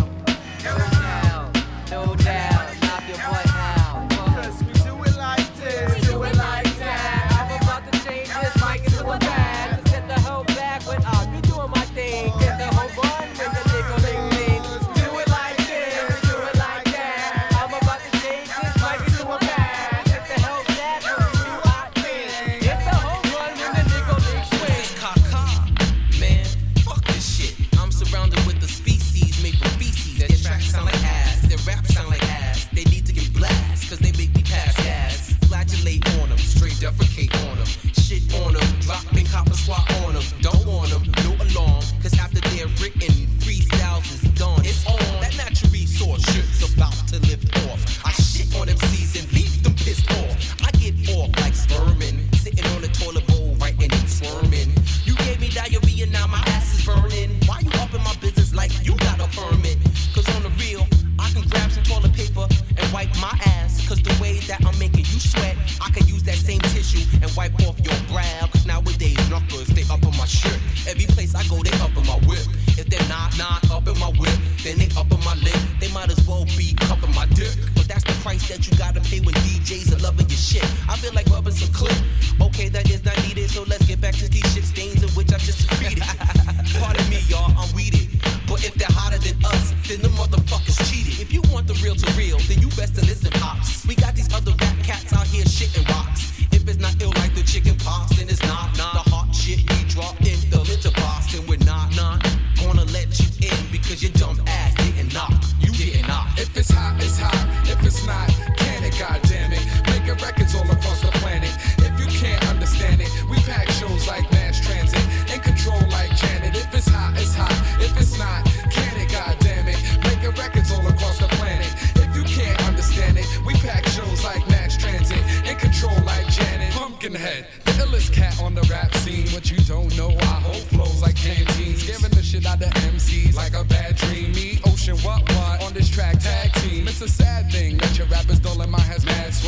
No doubt. Knock your butt out. Cause we do it like this. We do it like that. I'm about to change this mic into a bag. To set the whole back when I'll be doing my thing. Get the whole run when the Negro League thing. Do it like this. Do it like that. I'm about to change this mic into a bag. Get the whole back when we do our thing. Get the whole run when the Negro League swing. This is Kaka. Man, fuck this shit. I'm surrounded with the species made from feces. Their tracks sound like ass. Their raps sound like ass. They need to get blast, cause they make me pass gas. Flagellate on them, straight defecate on them. Shit on them, drop and copper squat on them. Don't want them, no alarm, cause after they're written, freestyles is done. It's on, that natural resource shit's about to lift off. I shit on them MCs and leave them pissed off. I get off like spermin', sitting on the toilet bowl, writing and squirming. You gave me diarrhea, now my ass is burning. Why you up in my business like you got a permit? Cause on the real, I can grab some toilet paper and wipe my ass. Cause the way that I'm making you sweat, I can use that same tissue and wipe off your brow. Cause nowadays knuckles, they up on my shirt. Every place I go, they up in my whip. If they're not up in my whip, then they up on my lip. They might as well be cupping my dick. But that's the price that you gotta pay when DJs are loving your shit. I feel like rubbing some clip. Okay, that is not needed, so let's get back to these shit stains in which I just secreted. Pardon me, y'all, I'm weeded. But if they're hotter than us, then the motherfuckers cheated. If you want the real to real, then you best to listen, pops. We got these other rap cats out here shitting rocks. If it's not ill like the chicken pox, then it's not. The hot shit we dropped in the litter box, then we're not gonna let you in because your dumb ass didn't knock. You didn't knock. If it's hot, it's hot. If it's not, can it, goddammit? Making records all across the planet. If you can't understand it, we pack shows like mass transit. In control like Janet. If it's hot, it's hot. If it's not, can it, goddammit? Making records all across the planet. If you can't understand it, we pack shows like mass transit. In control like Janet. Pumpkinhead, the illest cat on the rap scene. What you don't know, I hold flows like canteens. Scaring the shit out of MCs like a bad dream. Me, Ocean, what? On this track, tag team. It's a sad thing that your rappers don't let my has mad swag.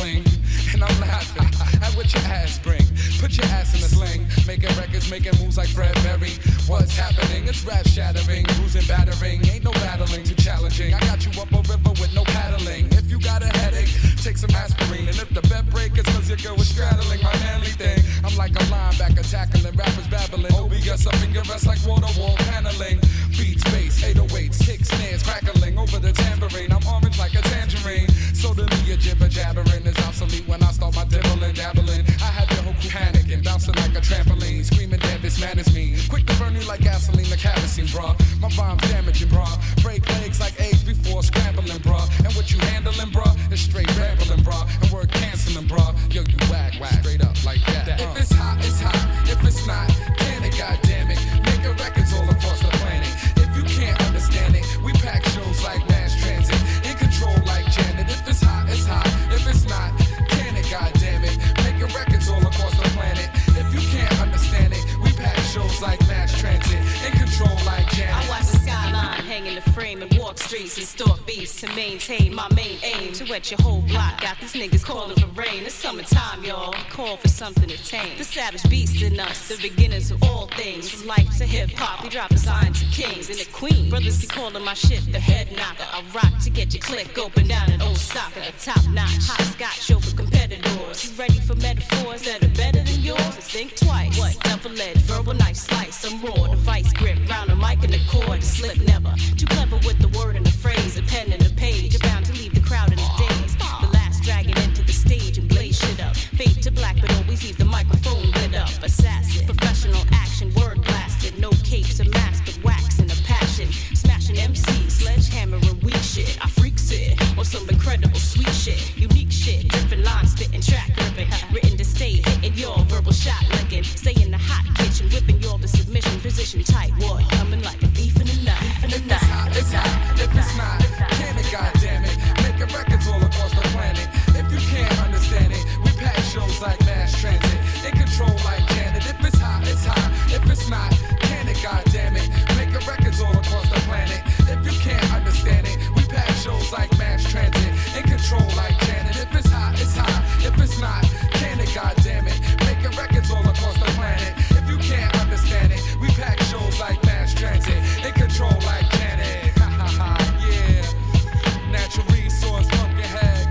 fling. And I'm laughing at what your ass bring. Put your ass in a sling. Making records, making moves like Fred Berry. What's happening? It's rap shattering. Bruising, battering. Ain't no battling, too challenging. I got you up a river with no paddling. If you got a headache, take some aspirin. And if the bed break, it's cause your girl was straddling my manly thing. I'm like a linebacker tackling, rappers babbling. OBS up in your vest like water wall paneling. Beats, bass, 808s, kick, snares, crackling over the tambourine. I'm orange like a tangerine. So to me, a jibber jabbering is obsolete when I start my dibbling, dabbling. I had the whole crew panicking, bouncing like a trampoline, screaming, damn, this man is mean. Quick to burn you like gasoline, the kerosene, bruh. My rhymes damaging, bruh. Break legs like eggs before scrambling, bruh. And what you handling, bruh, is straight rambling, bruh. And we're canceling, bruh. Yo, you whack, straight up like that. If it's hot, it's hot. If it's not, can it, goddammit. Making records all across the planet. If you can't understand it, we pack shows like mass transit. In control like Janet. If it's hot, it's hot. If it's not, can it, goddammit. Making records all across the planet. If you can't understand it, we pack shows like mass transit. In control like Janet. I watch the skyline hang in the frame and walk streets and stalk beats to maintain my main aim. To wet your whole block, got these niggas calling for rain. It's summertime, y'all. Call for something to tame. The savage beast in us, the beginners of all things. From life to hip hop, we drop designs to kings and the queen. Brothers be calling my shit the head knocker. I rock to get your click open down in Osaka. Top notch, hot scotch over competitors. You ready for metaphors that are better than yours? Think twice. What? Double-edged, verbal knife slice. I'm raw, the vice grip, round the mic and the cord, to slip never. Too clever with the word and the phrase, a pen and a page. You're bound to leave the crowd in a daze. The last dragon into the stage and blaze shit up. Fade to black, but always leave the microphone lit up. Assassin, professional action, word blasted. No capes or masks, but wax and a passion. Smashing MC, sledgehammer and weak shit. I freaks it, or some incredible sweet shit. Unique shit, dripping line, spitting, track ripping. Written to stay, hitting your verbal shot licking. Stay in the hot kitchen, whipping y'all to submission. Position tight, what? Coming like a thief in the night. If it's hot, it's hot. If it's not, can it, goddammit. Making records all across the planet. If you can't understand it, we pack shows like mass transit. In control like Janet. If it's hot, it's hot. If it's not, can it, goddammit. Making records all across the planet. If you can't understand it, we pack shows like mass transit. In control like Janet. If it's hot, it's hot. If it's not, can it, goddammit. Making records all across the planet. If you can't understand it, we pack shows like mass transit. In control like Janet. Ha ha ha, yeah. Natural resource, Pumpkinhead,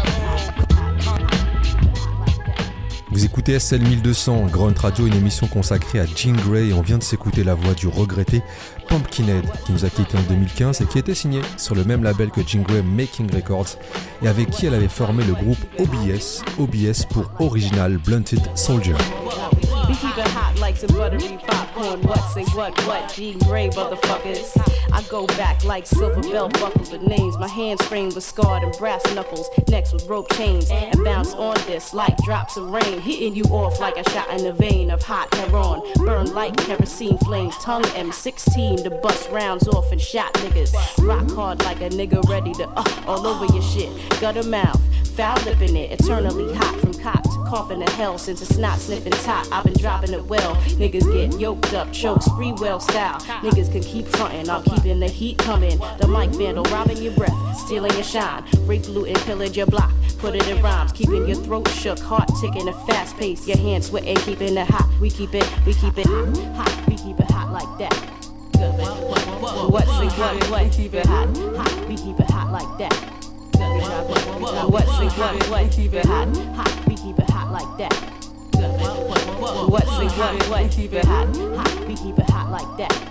Vous écoutez SL 1200, Grunt Radio, une émission consacrée à Jean Grae, et on vient de s'écouter la voix du regretté Pumpkinhead qui nous a quitté en 2015 et qui était signé sur le même label que Jean Grae, Making Records, et avec qui elle avait formé le groupe OBS pour Original Blunted Soldier. We keep it hot like some buttery popcorn. What, say what, Jean Grae, motherfuckers. I go back like silver belt buckles with names. My hands framed with scarred and brass knuckles. Next with rope chains. And bounce on this like drops of rain. Hitting you off like a shot in the vein of hot heroin. Burn like kerosene flames. Tongue M16 to bust rounds off and shot niggas. Rock hard like a nigga ready to all over your shit. Gutter mouth, foul lipping it. Eternally hot from cop to coughing to hell. Since it's not sniffing top, I've been dropping it well. Niggas get yoked up, chokes, free well style. Niggas can keep frontin', I'm keeping the heat coming. The mic vandal robbing your breath, stealing your shine. Rape, loot, and pillage your block. Put it in rhymes, keeping your throat shook, heart ticking at fast pace. Your hands sweating, keeping it hot. We keep it hot, we keep it hot like that. What's it what? We keep it hot, we keep it hot like that. What's it what? We keep it hot, we keep it hot like that. What's it what? We keep it hot, we keep it hot like that.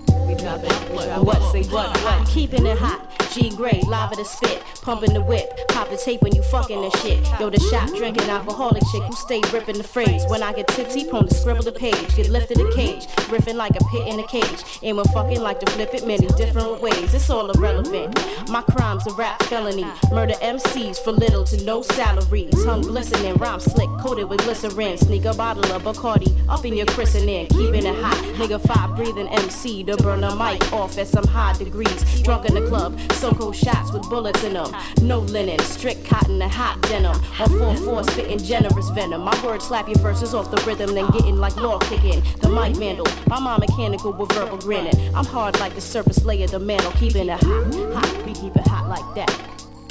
What's it what? Keeping it hot. Jean Grae, lava to spit, pumping the whip, pop the tape when you fucking and shit. Yo, the shot drinking alcoholic chick who stay ripping the phrase. When I get tipsy, prone to scribble the page, get lifted a cage, riffing like a pit in a cage. Aim and fucking like to flip it many different ways. It's all irrelevant. My crime's a rap felony. Murder MCs for little to no salary. Tongue glistening, rhyme slick, coated with glycerin. Sneak a bottle of Bacardi up in your christening, keeping it hot. Nigga 5 breathing MC to burn a mic off at some high degrees. Drunk in the club. So-called shots with bullets in them. No linen, strict cotton and hot denim. On 4/4 spitting generous venom. My words slap your verses off the rhythm, then getting like law kicking. The mic vandal, my mind mechanical with verbal grinning. I'm hard like the surface layer, the mantle, keeping it hot, we keep it hot like that.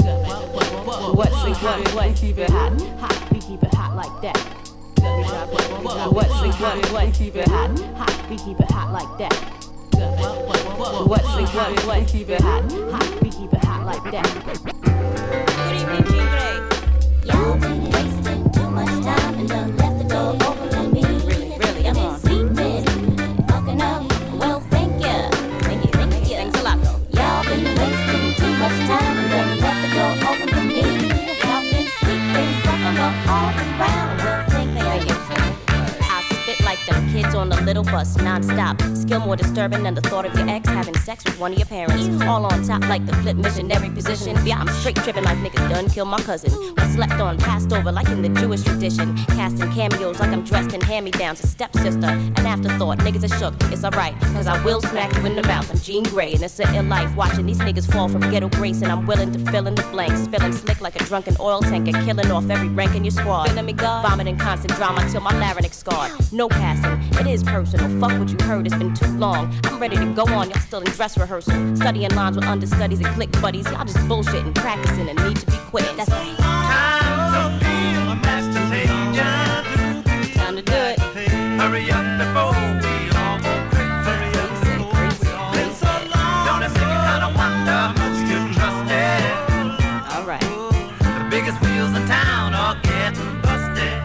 What's it what? We keep it hot, hot. We keep it hot like that. What's it what? We keep it hot, hot. We keep it hot like that. What's it what? We keep it hot, hot. We keep it hot like that. Good evening, Jean Grey. Y'all been wasting too much time and done left the door open for me. Really? I've been sleeping, fucking up. Well, thank ya. Thank you. Thanks a lot, though. Y'all been wasting too much time and done left the door open for me. Y'all been sleeping, fucking up all around. Well, thank ya. I spit like them kids on the little bus, non-stop. Skill more disturbing than the thought of your ex having sex with one of your parents. All on top like the flip missionary position. Yeah, I'm straight tripping like niggas done kill my cousin. Was slept on, passed over like in the Jewish tradition. Casting cameos like I'm dressed in hand-me-downs. A stepsister, an afterthought. Niggas are shook, it's alright, cause I will smack you in the mouth. I'm Jean Grey and it's a ill life. Watching these niggas fall from ghetto grace and I'm willing to fill in the blanks. Spilling slick like a drunken oil tanker. Killing off every rank in your squad. Feeling me, God? Vomiting constant drama till my larynx scarred. No passing, it is personal. Fuck what you heard, it's been too long. I'm ready to go on, y'all still in dress rehearsal. Studying lines with understudies and click buddies. Y'all just bullshitting, practicing, and need to be quitting. That's right. Time to be a master changer. Time to do it. Hurry up before we all go crazy. Been so long. Don't it make you kinda wonder how much you trust it? Alright. The biggest wheels in town are getting busted.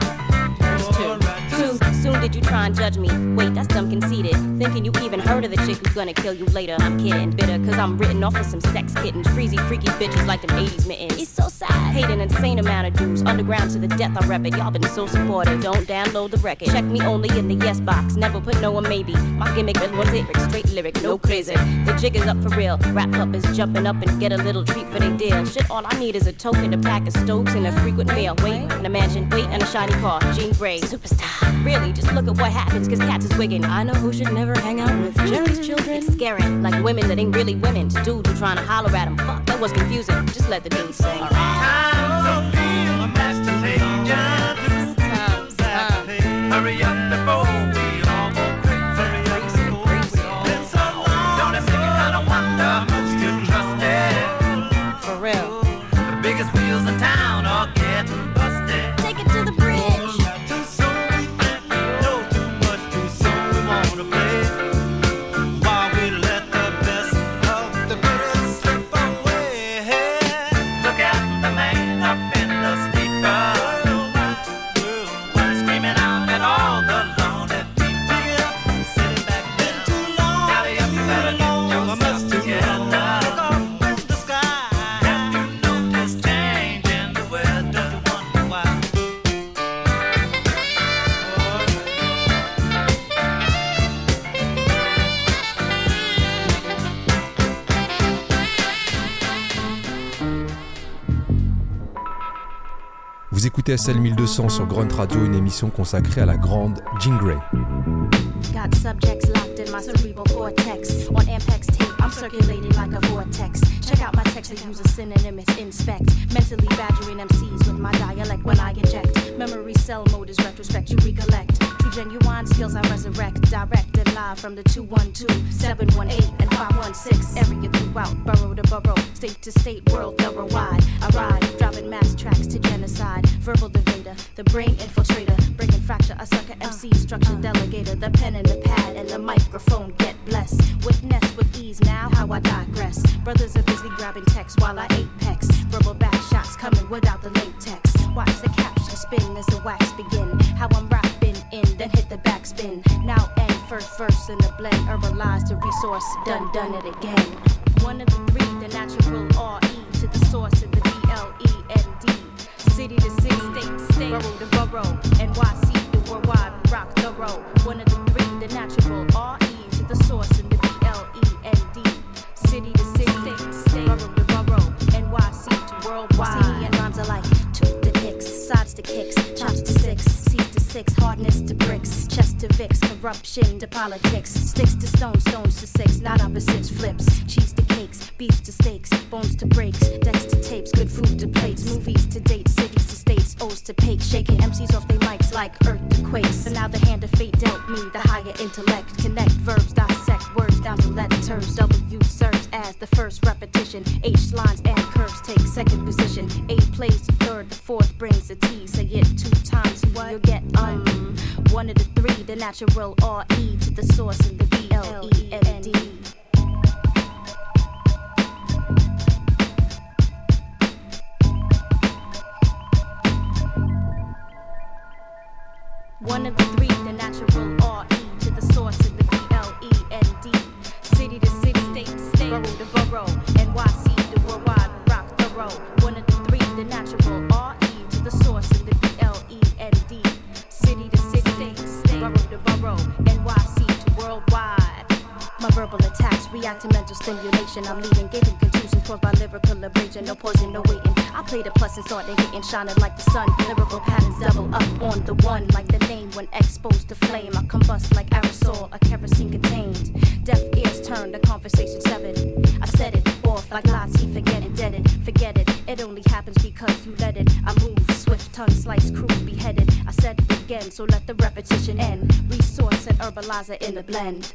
Soon did you try and judge me? Wait, that's dumb conceited. Thinking you even heard of the chick who's gonna kill you later. I'm kidding, bitter, cause I'm written off of some sex kittens. Freezy, freaky bitches like them 80s mittens. It's so sad. Hate an insane amount of dudes. Underground to the death, I rep it. Y'all been so supportive. Don't download the record. Check me only in the yes box. Never put no or maybe. My gimmick is one lyric, straight lyric, no crazy. The jig is up for real. Rap up is jumping up and get a little treat for their deal. Shit, all I need is a token, a pack of Stokes, and a frequent meal. Wait, in a mansion, wait, and a shiny car. Jean Grey, superstar. Really, just look at what happens, cause cats is wiggin'. I know who should never hang out with Jerry's children. It's scary, like women that ain't really women. To dudes who trying to holler at them. Fuck, that was confusing. Just let the dude sing. Alright. Time to be a master changer. Time. Hurry up before we all go crazy. Been so long. Don't it make you kinda wonder how much you trust it? For real. The biggest wheels in town are getting busted. Take it to the bridge. Too soon, know too much, too soon wanna play. While we let the best of the greatest slip away. Look at the man up in the steeper, screaming out at all the lonely people. Sitting back there too long. Tally up, you better get yourself together. Look up in the sky. Have you noticed change in the weather? You wonder why? Vous écoutez SL 1200 sur Grunt Radio, une émission consacrée à la grande Jean Grey. Got subjects locked in my cerebral cortex. On Ampex tape, I'm circulating like a vortex. Check out my text, I use a synonym, it's inspect. Mentally badgering MCs with my dialect when I inject. Memory cell mode is retrospect, you recollect. True genuine skills I resurrect. Direct and live from the 212, 718, and 516. Area throughout, borough to borough, state to state, world thorough wide. I ride, driving mass tracks to genocide. Verbal devader, the brain infiltrator. Breaking fracture, a sucker MC, structure delegator. The pen and the pad and the microphone get blessed. Witness with ease now how I digress. Brothers are busy grabbing text while I apex. Verbal back shots coming without the latex. Watch the caption spin as the wax begin. How I'm rapping in, then hit the backspin. Now end, first verse in the blend. Herbalize the resource, done it again. One of the three, the natural R-E to the source of the B-L-E-N-D. City to city, state to state, borough to borough, NYC the worldwide, rock the road. One of the three, the natural R-E to the source in the B-L-E-N-D. City to city, state to state, borough to borough, NYC to worldwide. See me and rhymes are like tooth to picks, sides to kicks, chops to six, C's to six, hardness to bricks, chest to Vicks, corruption to politics, sticks to stones, stones to six, not opposites, flips, cheese to cakes, beefs to steaks, bones to breaks, decks to tapes, good food to plates, movies to dates, cities to states, O's to pakes, shaking MCs off their mics like earthquakes. So now the hand of fate dealt me the higher intellect, connect verbs, dissect words down to letters. W serves as the first repetition, H lines and curves take second position. repetition. 8 plays the 3rd, the 4th brings the T. Say it 2 times, you'll get one of the 3, the natural R-E to the source and the B-L-E-N-D. One of the 3, the natural R-E to the source and the B-L-E-N-D. City to city, state to state, borough to borough, NYC to worldwide, rock thorough. One of the 3, the natural R-E to the source and the B-L-E-N-D. City to city, state to state, borough to borough, NYC to worldwide. My verbal attacks react to mental stimulation. I'm leaving, giving contusions caused by lyrical abrasion. No poison, no waiting. I play the plus and start they getting shining like the sun. Lyrical patterns double up on the one, like the name when exposed to flame. I combust like aerosol, a kerosene contained. Deaf ears turn, the conversation severed. I set it off like Lottie, forget it, dead it, forget it. It only happens because you let it. I move swift, tongue slice, crew beheaded. I said it again, so let the repetition end. Resource and herbalizer in the blend.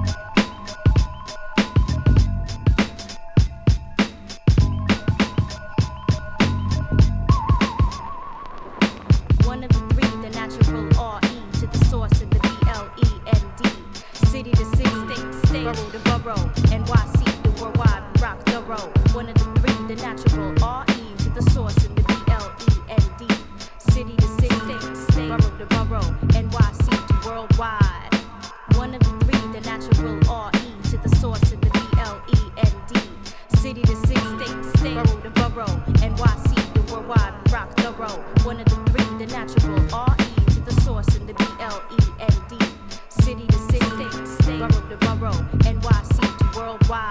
One of the 3, the natural R-E to the source and the B-L-E-N-D. City to city, state to state, borough to borough, NYC to worldwide, rock thorough. One of the 3, the natural R-E to the source and the B-L-E-N-D. City to city, state to state, borough to borough, NYC to worldwide. One of the 3, the natural R-E to the source and the B-L-E-N-D. City to city, state to state, borough to borough, NYC to worldwide, rock thorough. One of the 3, the natural R-E to the source and the B-L-E-N-D. City to city, state to state, borough to borough, NYC to worldwide.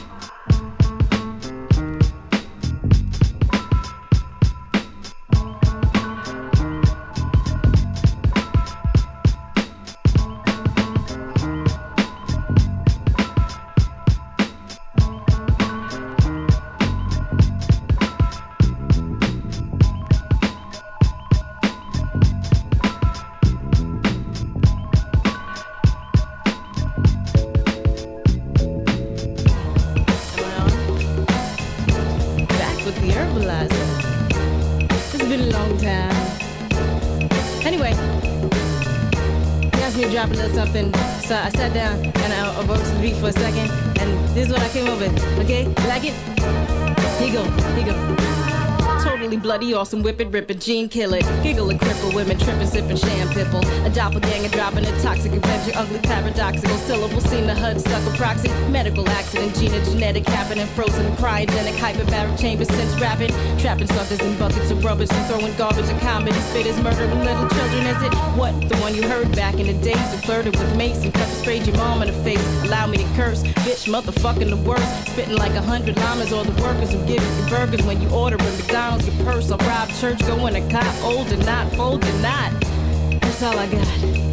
Drop a little something, so I sat down and I wrote to the beat for a second, and this is what I came up with. Okay, like it? Here you go, here you go. Totally bloody awesome, whip it, rip it, gene kill it. Giggle and cripple, women tripping, sipping sham pipple. A doppelganger dropping a toxic adventure, ugly paradoxical syllable. Seen the HUD sucker proxy, medical accident, genetic happening, frozen cryogenic, hyperbaric chambers since rapping. Trapping suckers in buckets of rubbish and throwing garbage at comedy. Spitters murdering little children, is it? What? The one you heard back in the days who flirted with mace and pepper sprayed your mom in the face. Allow me to curse, bitch, motherfucking the worst. Spitting like 100 llamas, all the workers who give you burgers when you order at McDonald's. Your purse, I rob church, going to cop, old and not, fold and not. That's all I got.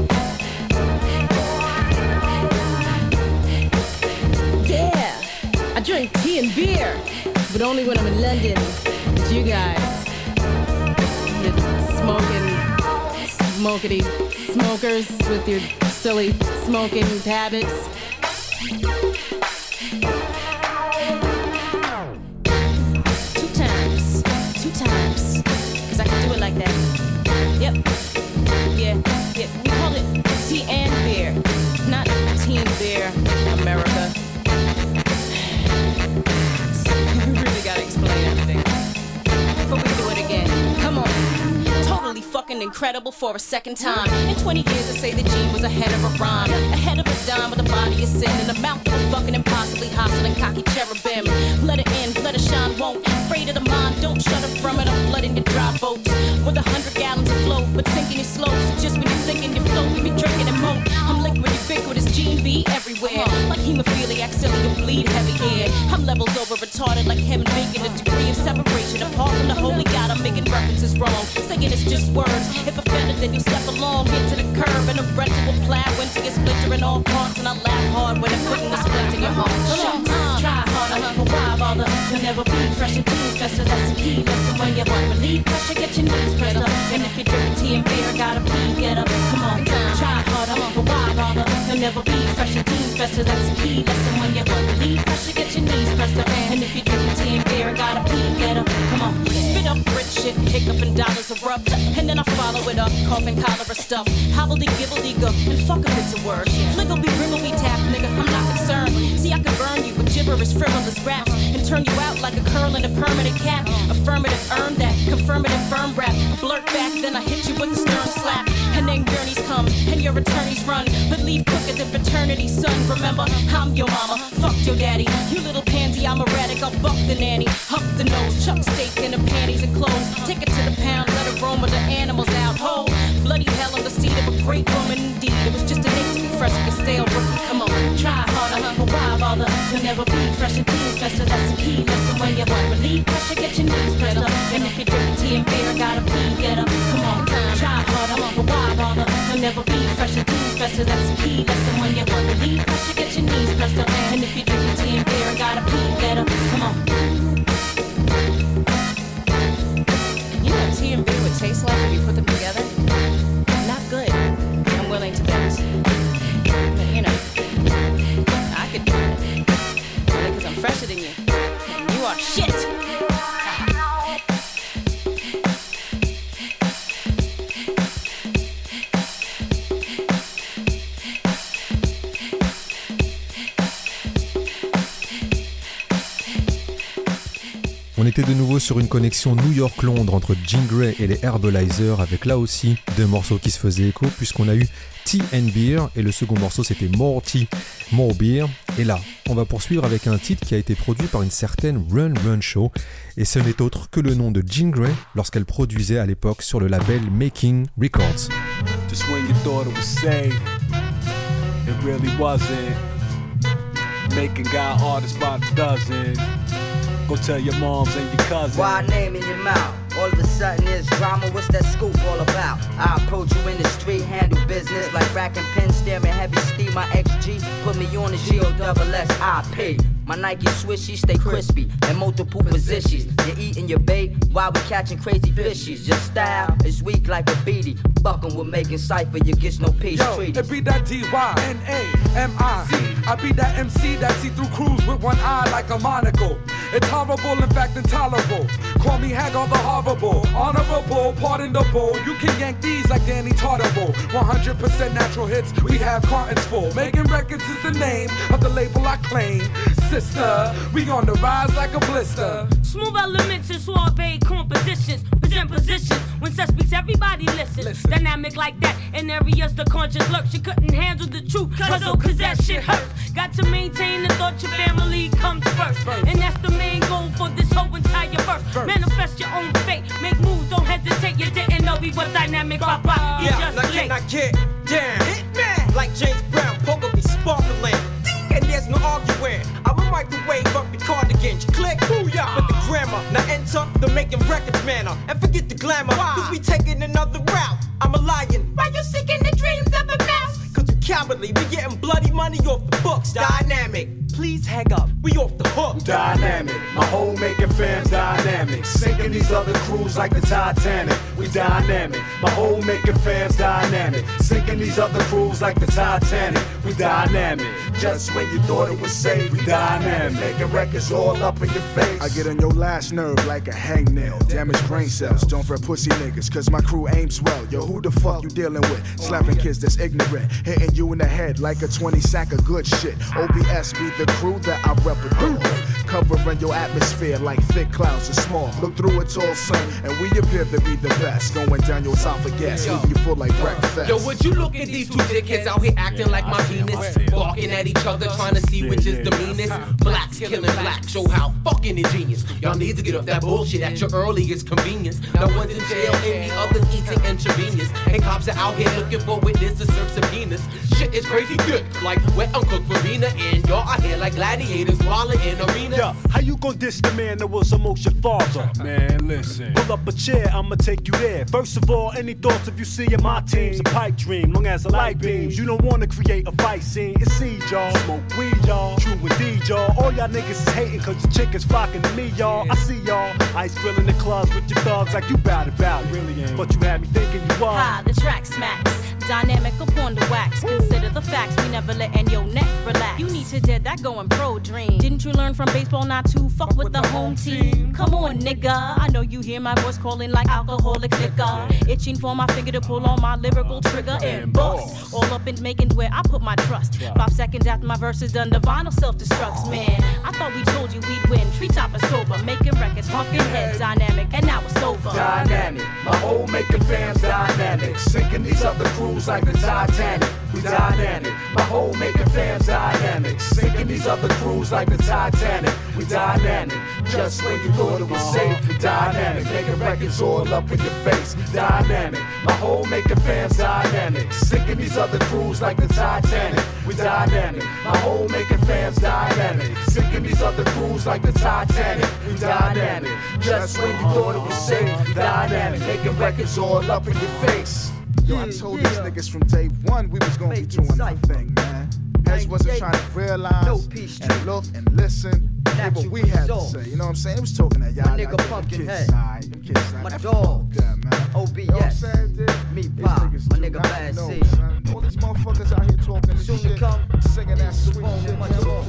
Yeah, I drink tea and beer, but only when I'm in London with you guys. You're smokity smokers with your silly smoking habits. Two times, cause I can do it like that. Yep, yeah, we call it tea and beer, not teen beer, America. You really gotta explain everything, but we do it again, come on. Totally fucking incredible for a second time. In 20 years I say that Gene was ahead of a rhyme, ahead of a dime with a body of sin and a mouth that was fucking impossibly hostile and cocky cherubim. Let it in, let it shine, won't. Afraid of the mind, don't shut up from it. I'm flooding your dry boats with 100 gallons of flow, but sinking it slow. So just when you're thinking you float, we be drinking and moat. I'm liquid, ubiquitous, Gene B everywhere. Like hemophiliac, silly, you bleed heavy here. I'm levels over retarded like him making a degree of separation. Apart from the holy God, I'm making references wrong. Saying it's just words. If offended, then you step along, get to the curb, and a rental will plow into your splintering off parts. And I laugh hard when I'm putting the splint in your heart. Try harder, but why bother? You'll never be fresh and jeans, faster, that's the key. Listen when you want relief, pressure, get your knees pressed up. And if you're drinking tea and beer, gotta pee, get up, come on. Try harder, but why bother? You'll never be fresh and jeans, pressure, that's a key lesson. When you believe pressure, get your knees pressed up. And if you're drinking tea and beer and gotta pee, get up, come on. Spit up rich shit, hiccup and dollars erupt. And then I follow it up, coughing cholera stuff. Hobbledy-gibbledy-go, and fuck if it's a word. Fliggleby, tap, nigga, I'm not concerned. See, I can burn you with gibberish, frivolous raps. And turn you out like a curl in a permanent cap. Affirmative, earn that, confirmative, firm rap. Blurt back, then I hit you with the stern slap. And then gurneys come, and your attorneys run. But leave quicker than paternity, son. Remember, I'm your mama, fuck your daddy. You little pansy, I'm erratic, I'll buck the nanny. Huck the nose, chuck steak in the panties and clothes. Take it to the pound, let it roam with the animals out. Whole bloody hell on the seat of a great woman indeed. It was just an itch to be fresh and stale rookie. Come on, try harder, but why bother? You'll never be fresh and clean, special, that's the key. Listen when you want relief, pressure, get your knees pressed up. And if you're drinking tea and beer, gotta pee, get up. Come on, try harder, but why bother? You'll never be fresh and clean, special, that's the key. Listen when you want relief, pressure, get your knees pressed up. And if you're drinking tea and beer, gotta pee, get up. Come on. You know what tea and beer would taste like if you put them together? Not good. I'm willing to bet. But you know, I could do it. Because I'm fresher than you. And you are shit. On était de nouveau sur une connexion New York-Londres entre Jean Grey et les Herbalizer avec là aussi deux morceaux qui se faisaient écho puisqu'on a eu Tea and Beer et le second morceau c'était More Tea, More Beer. Et là, on va poursuivre avec un titre qui a été produit par une certaine Run Run Show et ce n'est autre que le nom de Jean Grey lorsqu'elle produisait à l'époque sur le label Making Records. Just when you thought it was safe, it really wasn't. Making got artists by the dozen. Go tell your moms and your cousins. Why name in your mouth? All of a sudden there's drama, what's that scoop all about? I approach you in the street, handle business like racking pins, staring heavy steam. My XG put me on the GOSSIP. My Nike swishies stay crispy in multiple positions. You're eating your bait while we catching crazy fishies. Your style is weak like a beady. Buckin' with making cypher, you get no peace treaties. It be that D-Y-N-A-M-I-C. I be that MC that see through crews with one eye like a monocle. It's horrible, in fact intolerable. Call me Hag on the horrible. Honorable, pardon the bull. You can yank these like Danny Tartable. 100% natural hits, we have cartons full. Making records is the name of the label I claim. Sister, we on the rise like a blister. Smooth elements and suave compositions. Present positions. When sex speaks, everybody listens. Dynamic like that. In areas the conscience lurks. You couldn't handle the truth. Cause that shit hurts. Got to maintain the thought your family comes first. And that's the main goal for this whole entire verse. Manifest your own fate. Make moves, don't hesitate. You didn't know we was dynamic. Papa, you just late. Now get down. Hitman. Like James Brown, poker be sparkling. And there's no arguing. I will microwave up your cardigan. You click, booyah, with the grammar. Now enter the making records manner. And forget the glamour, cause we taking another route. I'm a lion. Why you seeking the dreams of a mouse? Cause we cowardly, we getting bloody money off the books. Dynamic, please hang up, we off the hook. Dynamic, my whole making fam's dynamic. Sinking these other crews like the Titanic. We dynamic, my whole making fam's dynamic. Sinking these other crews like the Titanic. We dynamic, just when you thought it was safe. We dynamic, making records all up in your face. I get on your last nerve like a hangnail. Damaged brain cells, don't fret pussy niggas, cause my crew aims well. Yo, who the fuck you dealing with? Slapping kids that's ignorant, hitting you in the head like a 20 sack of good shit. OBS be the crew that I represent. Covering your atmosphere like thick clouds are small. Look through it all, son, and we appear to be the best. Going down your esophagus, leaving you full like breakfast. Yo, would you look at these two dickheads out here acting like my penis? Barking at each other, trying to see which is the meanest. Blacks killing blacks, show how fucking ingenious. Y'all need to get off that bullshit at your earliest convenience. No one's in jail and the others eating intravenous. And cops are out here looking for witnesses to serve subpoenas. Shit is crazy good, like wet Uncle Farina. And y'all out here like gladiators walling in arenas. Yeah, how you gon' diss the man that was almost your father? Man, listen. Pull up a chair, I'ma take you there. First of all, any thoughts of you seeing my team's a pipe dream. Long as the light beams, you don't wanna create a fight scene. It's seed, y'all. Smoke weed, y'all. True indeed, y'all. All y'all niggas is hating cause your chick is flocking to me, y'all. I see y'all. Ice filling the clubs with your thugs like you bout it, really ain't. But you had me thinking you was. Ha, the track smacks. dynamic upon the wax. Consider the facts, we never letting your neck relax. You need to dead that going pro dream. Didn't you learn from baseball not to fuck with the home team? Come on, nigga. I know you hear my voice calling like alcoholic liquor. Itching for my finger to pull on my lyrical trigger and bust. All up in making where I put my trust. 5 seconds after my verse is done, the vinyl self-destructs. Man, I thought we told you we'd win. Treetop is sober, making records, pumping heads, dynamic, and now it's over. Dynamic, my whole making fam's dynamic. Sinking these other crews like the Titanic. We dynamic, my whole making fam's dynamic. Sinking these other crews like the Titanic. We dynamic, just when you thought it was safe. Dynamic, making records all up in your face. Dynamic, my whole making fam's dynamic. Sinking these other crews like the Titanic. We dynamic, my whole making fam's dynamic. Sinking these other crews like the Titanic. We dynamic, just when you thought it was safe. Dynamic, making records all up in your face. Yo, I told these niggas from day one we was gonna be doing our thing, man. Heads wasn't trying to realize and look and listen. Hear what we had to say, you know what I'm saying? It was talking at y'all. My nigga Pumpkinhead, my dog, OBS, me pop, my nigga Bad C. All these motherfuckers out here talking this soon shit, to come, singing that sweet shit. much more.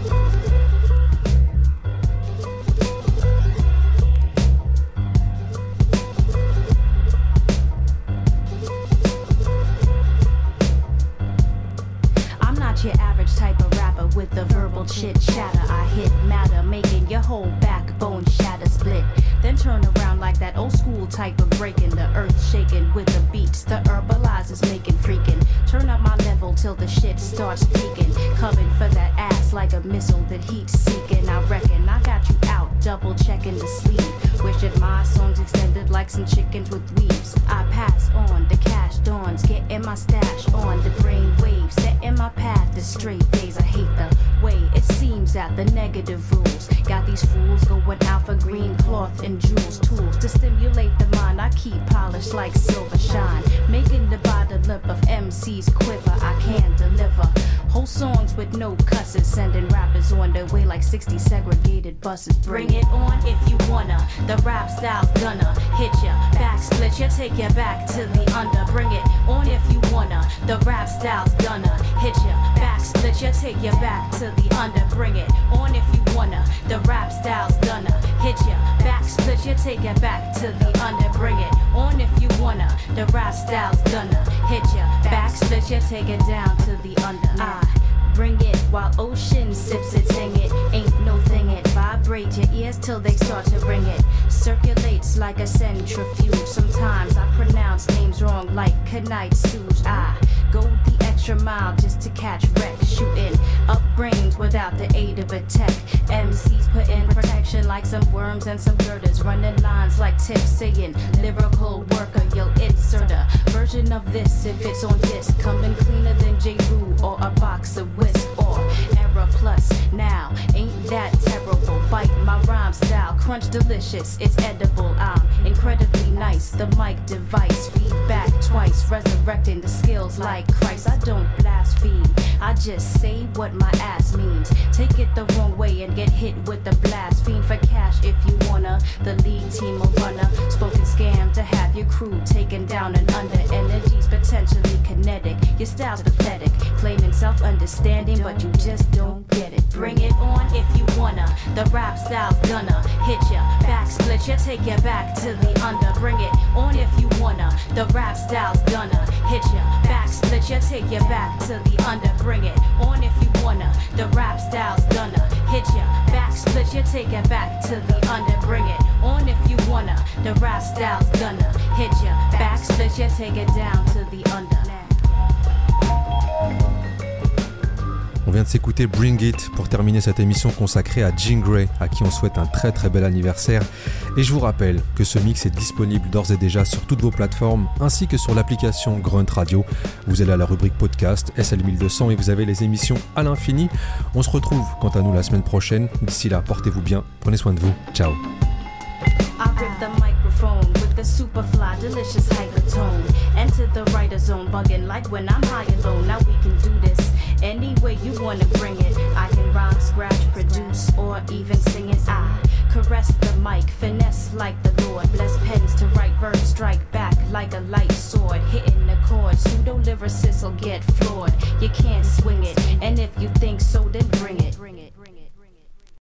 Your average type of rapper with the verbal chit chatter. I hit matter, making your whole backbone shatter split. Then turn around like that old school type of breaking, the earth shaking with the beats. The herbalizers making freaking. Turn up my level till the shit starts peaking. Coming for that ass like a missile that heat's seeking. I reckon I got you out, double checking the sleeve. Wishing my songs extended like some chickens with weaves. I pass on the cash dawns, getting my stash on the brain waves, setting my path. The straight days, I hate the way it seems that the negative rules got these fools going out for green cloth and jewels, tools to stimulate the mind. I keep polished like silver shine, making the bottom lip of MCs quiver. I can deliver whole songs with no cusses, sending rappers on their way like 60 segregated buses. Bring it on if you wanna. The rap style's gonna hit ya, back split ya, take ya back to the under. Bring it on if you wanna. The rap style's gonna hit ya, back split ya, take ya back to the under. Bring it on if you wanna. The rap style's gonna hit ya, back split ya, take ya back to the under. Bring it on if you wanna. The rap style's gonna hit ya, back split ya, take it down to the under. I bring it while ocean sips it, sing it. Ain't no thing it. Vibrate your ears till they start to ring it. Circulates like a centrifuge. Sometimes I pronounce names wrong like Knightsuge. I go the extra mile just to catch wrecks. Shooting up brains without the aid of a tech. MCs put in protection like some worms and some girders. Running lines like tips saying lyrical worker. You'll insert a version of this if it's on disc. Coming cleaner than J. Rue or a box of whisk. Or Error Plus now, ain't that terrible. Bite my rhyme style, crunch delicious, it's edible. I'm incredibly nice, the mic device. Feedback twice, resurrecting the skills like Christ. I don't blaspheme, I just say what my ass means. Take it the wrong way and get hit with the blaspheme. For cash if you wanna, the lead team will runner. Spoken scam to have your crew taken down and under. Energy's potentially kinetic, your style's pathetic. Claiming self-understanding, but you just don't get it. Bring it on if you wanna. The rap style's gonna hit ya, back split ya, take ya back to the under. Bring it on if you wanna. The rap style's gonna hit ya, back split ya, take ya back to the under. Bring it on if you wanna. The rap style's gonna hit ya, back split ya, take ya back to the under. Bring it on if you wanna. The rap style's gonna hit ya, back split ya, take it down to the under. On vient de s'écouter Bring It pour terminer cette émission consacrée à Jean Grae, à qui on souhaite un très très bel anniversaire. Et je vous rappelle que ce mix est disponible d'ores et déjà sur toutes vos plateformes, ainsi que sur l'application Grunt Radio. Vous allez à la rubrique podcast SL1200 et vous avez les émissions à l'infini. On se retrouve quant à nous la semaine prochaine. D'ici là, portez-vous bien, prenez soin de vous. Ciao. I rip the microphone with the super fly, delicious hypertone. Enter the writer zone, bugging like when I'm high alone. Now we can do this any way you wanna bring it. I can rhyme, scratch, produce, or even sing it. I caress the mic, finesse like the Lord. Bless pens to write verbs, strike back like like a light sword, hitting the chord. Pseudo lyricists will get floored. You can't swing it, and if you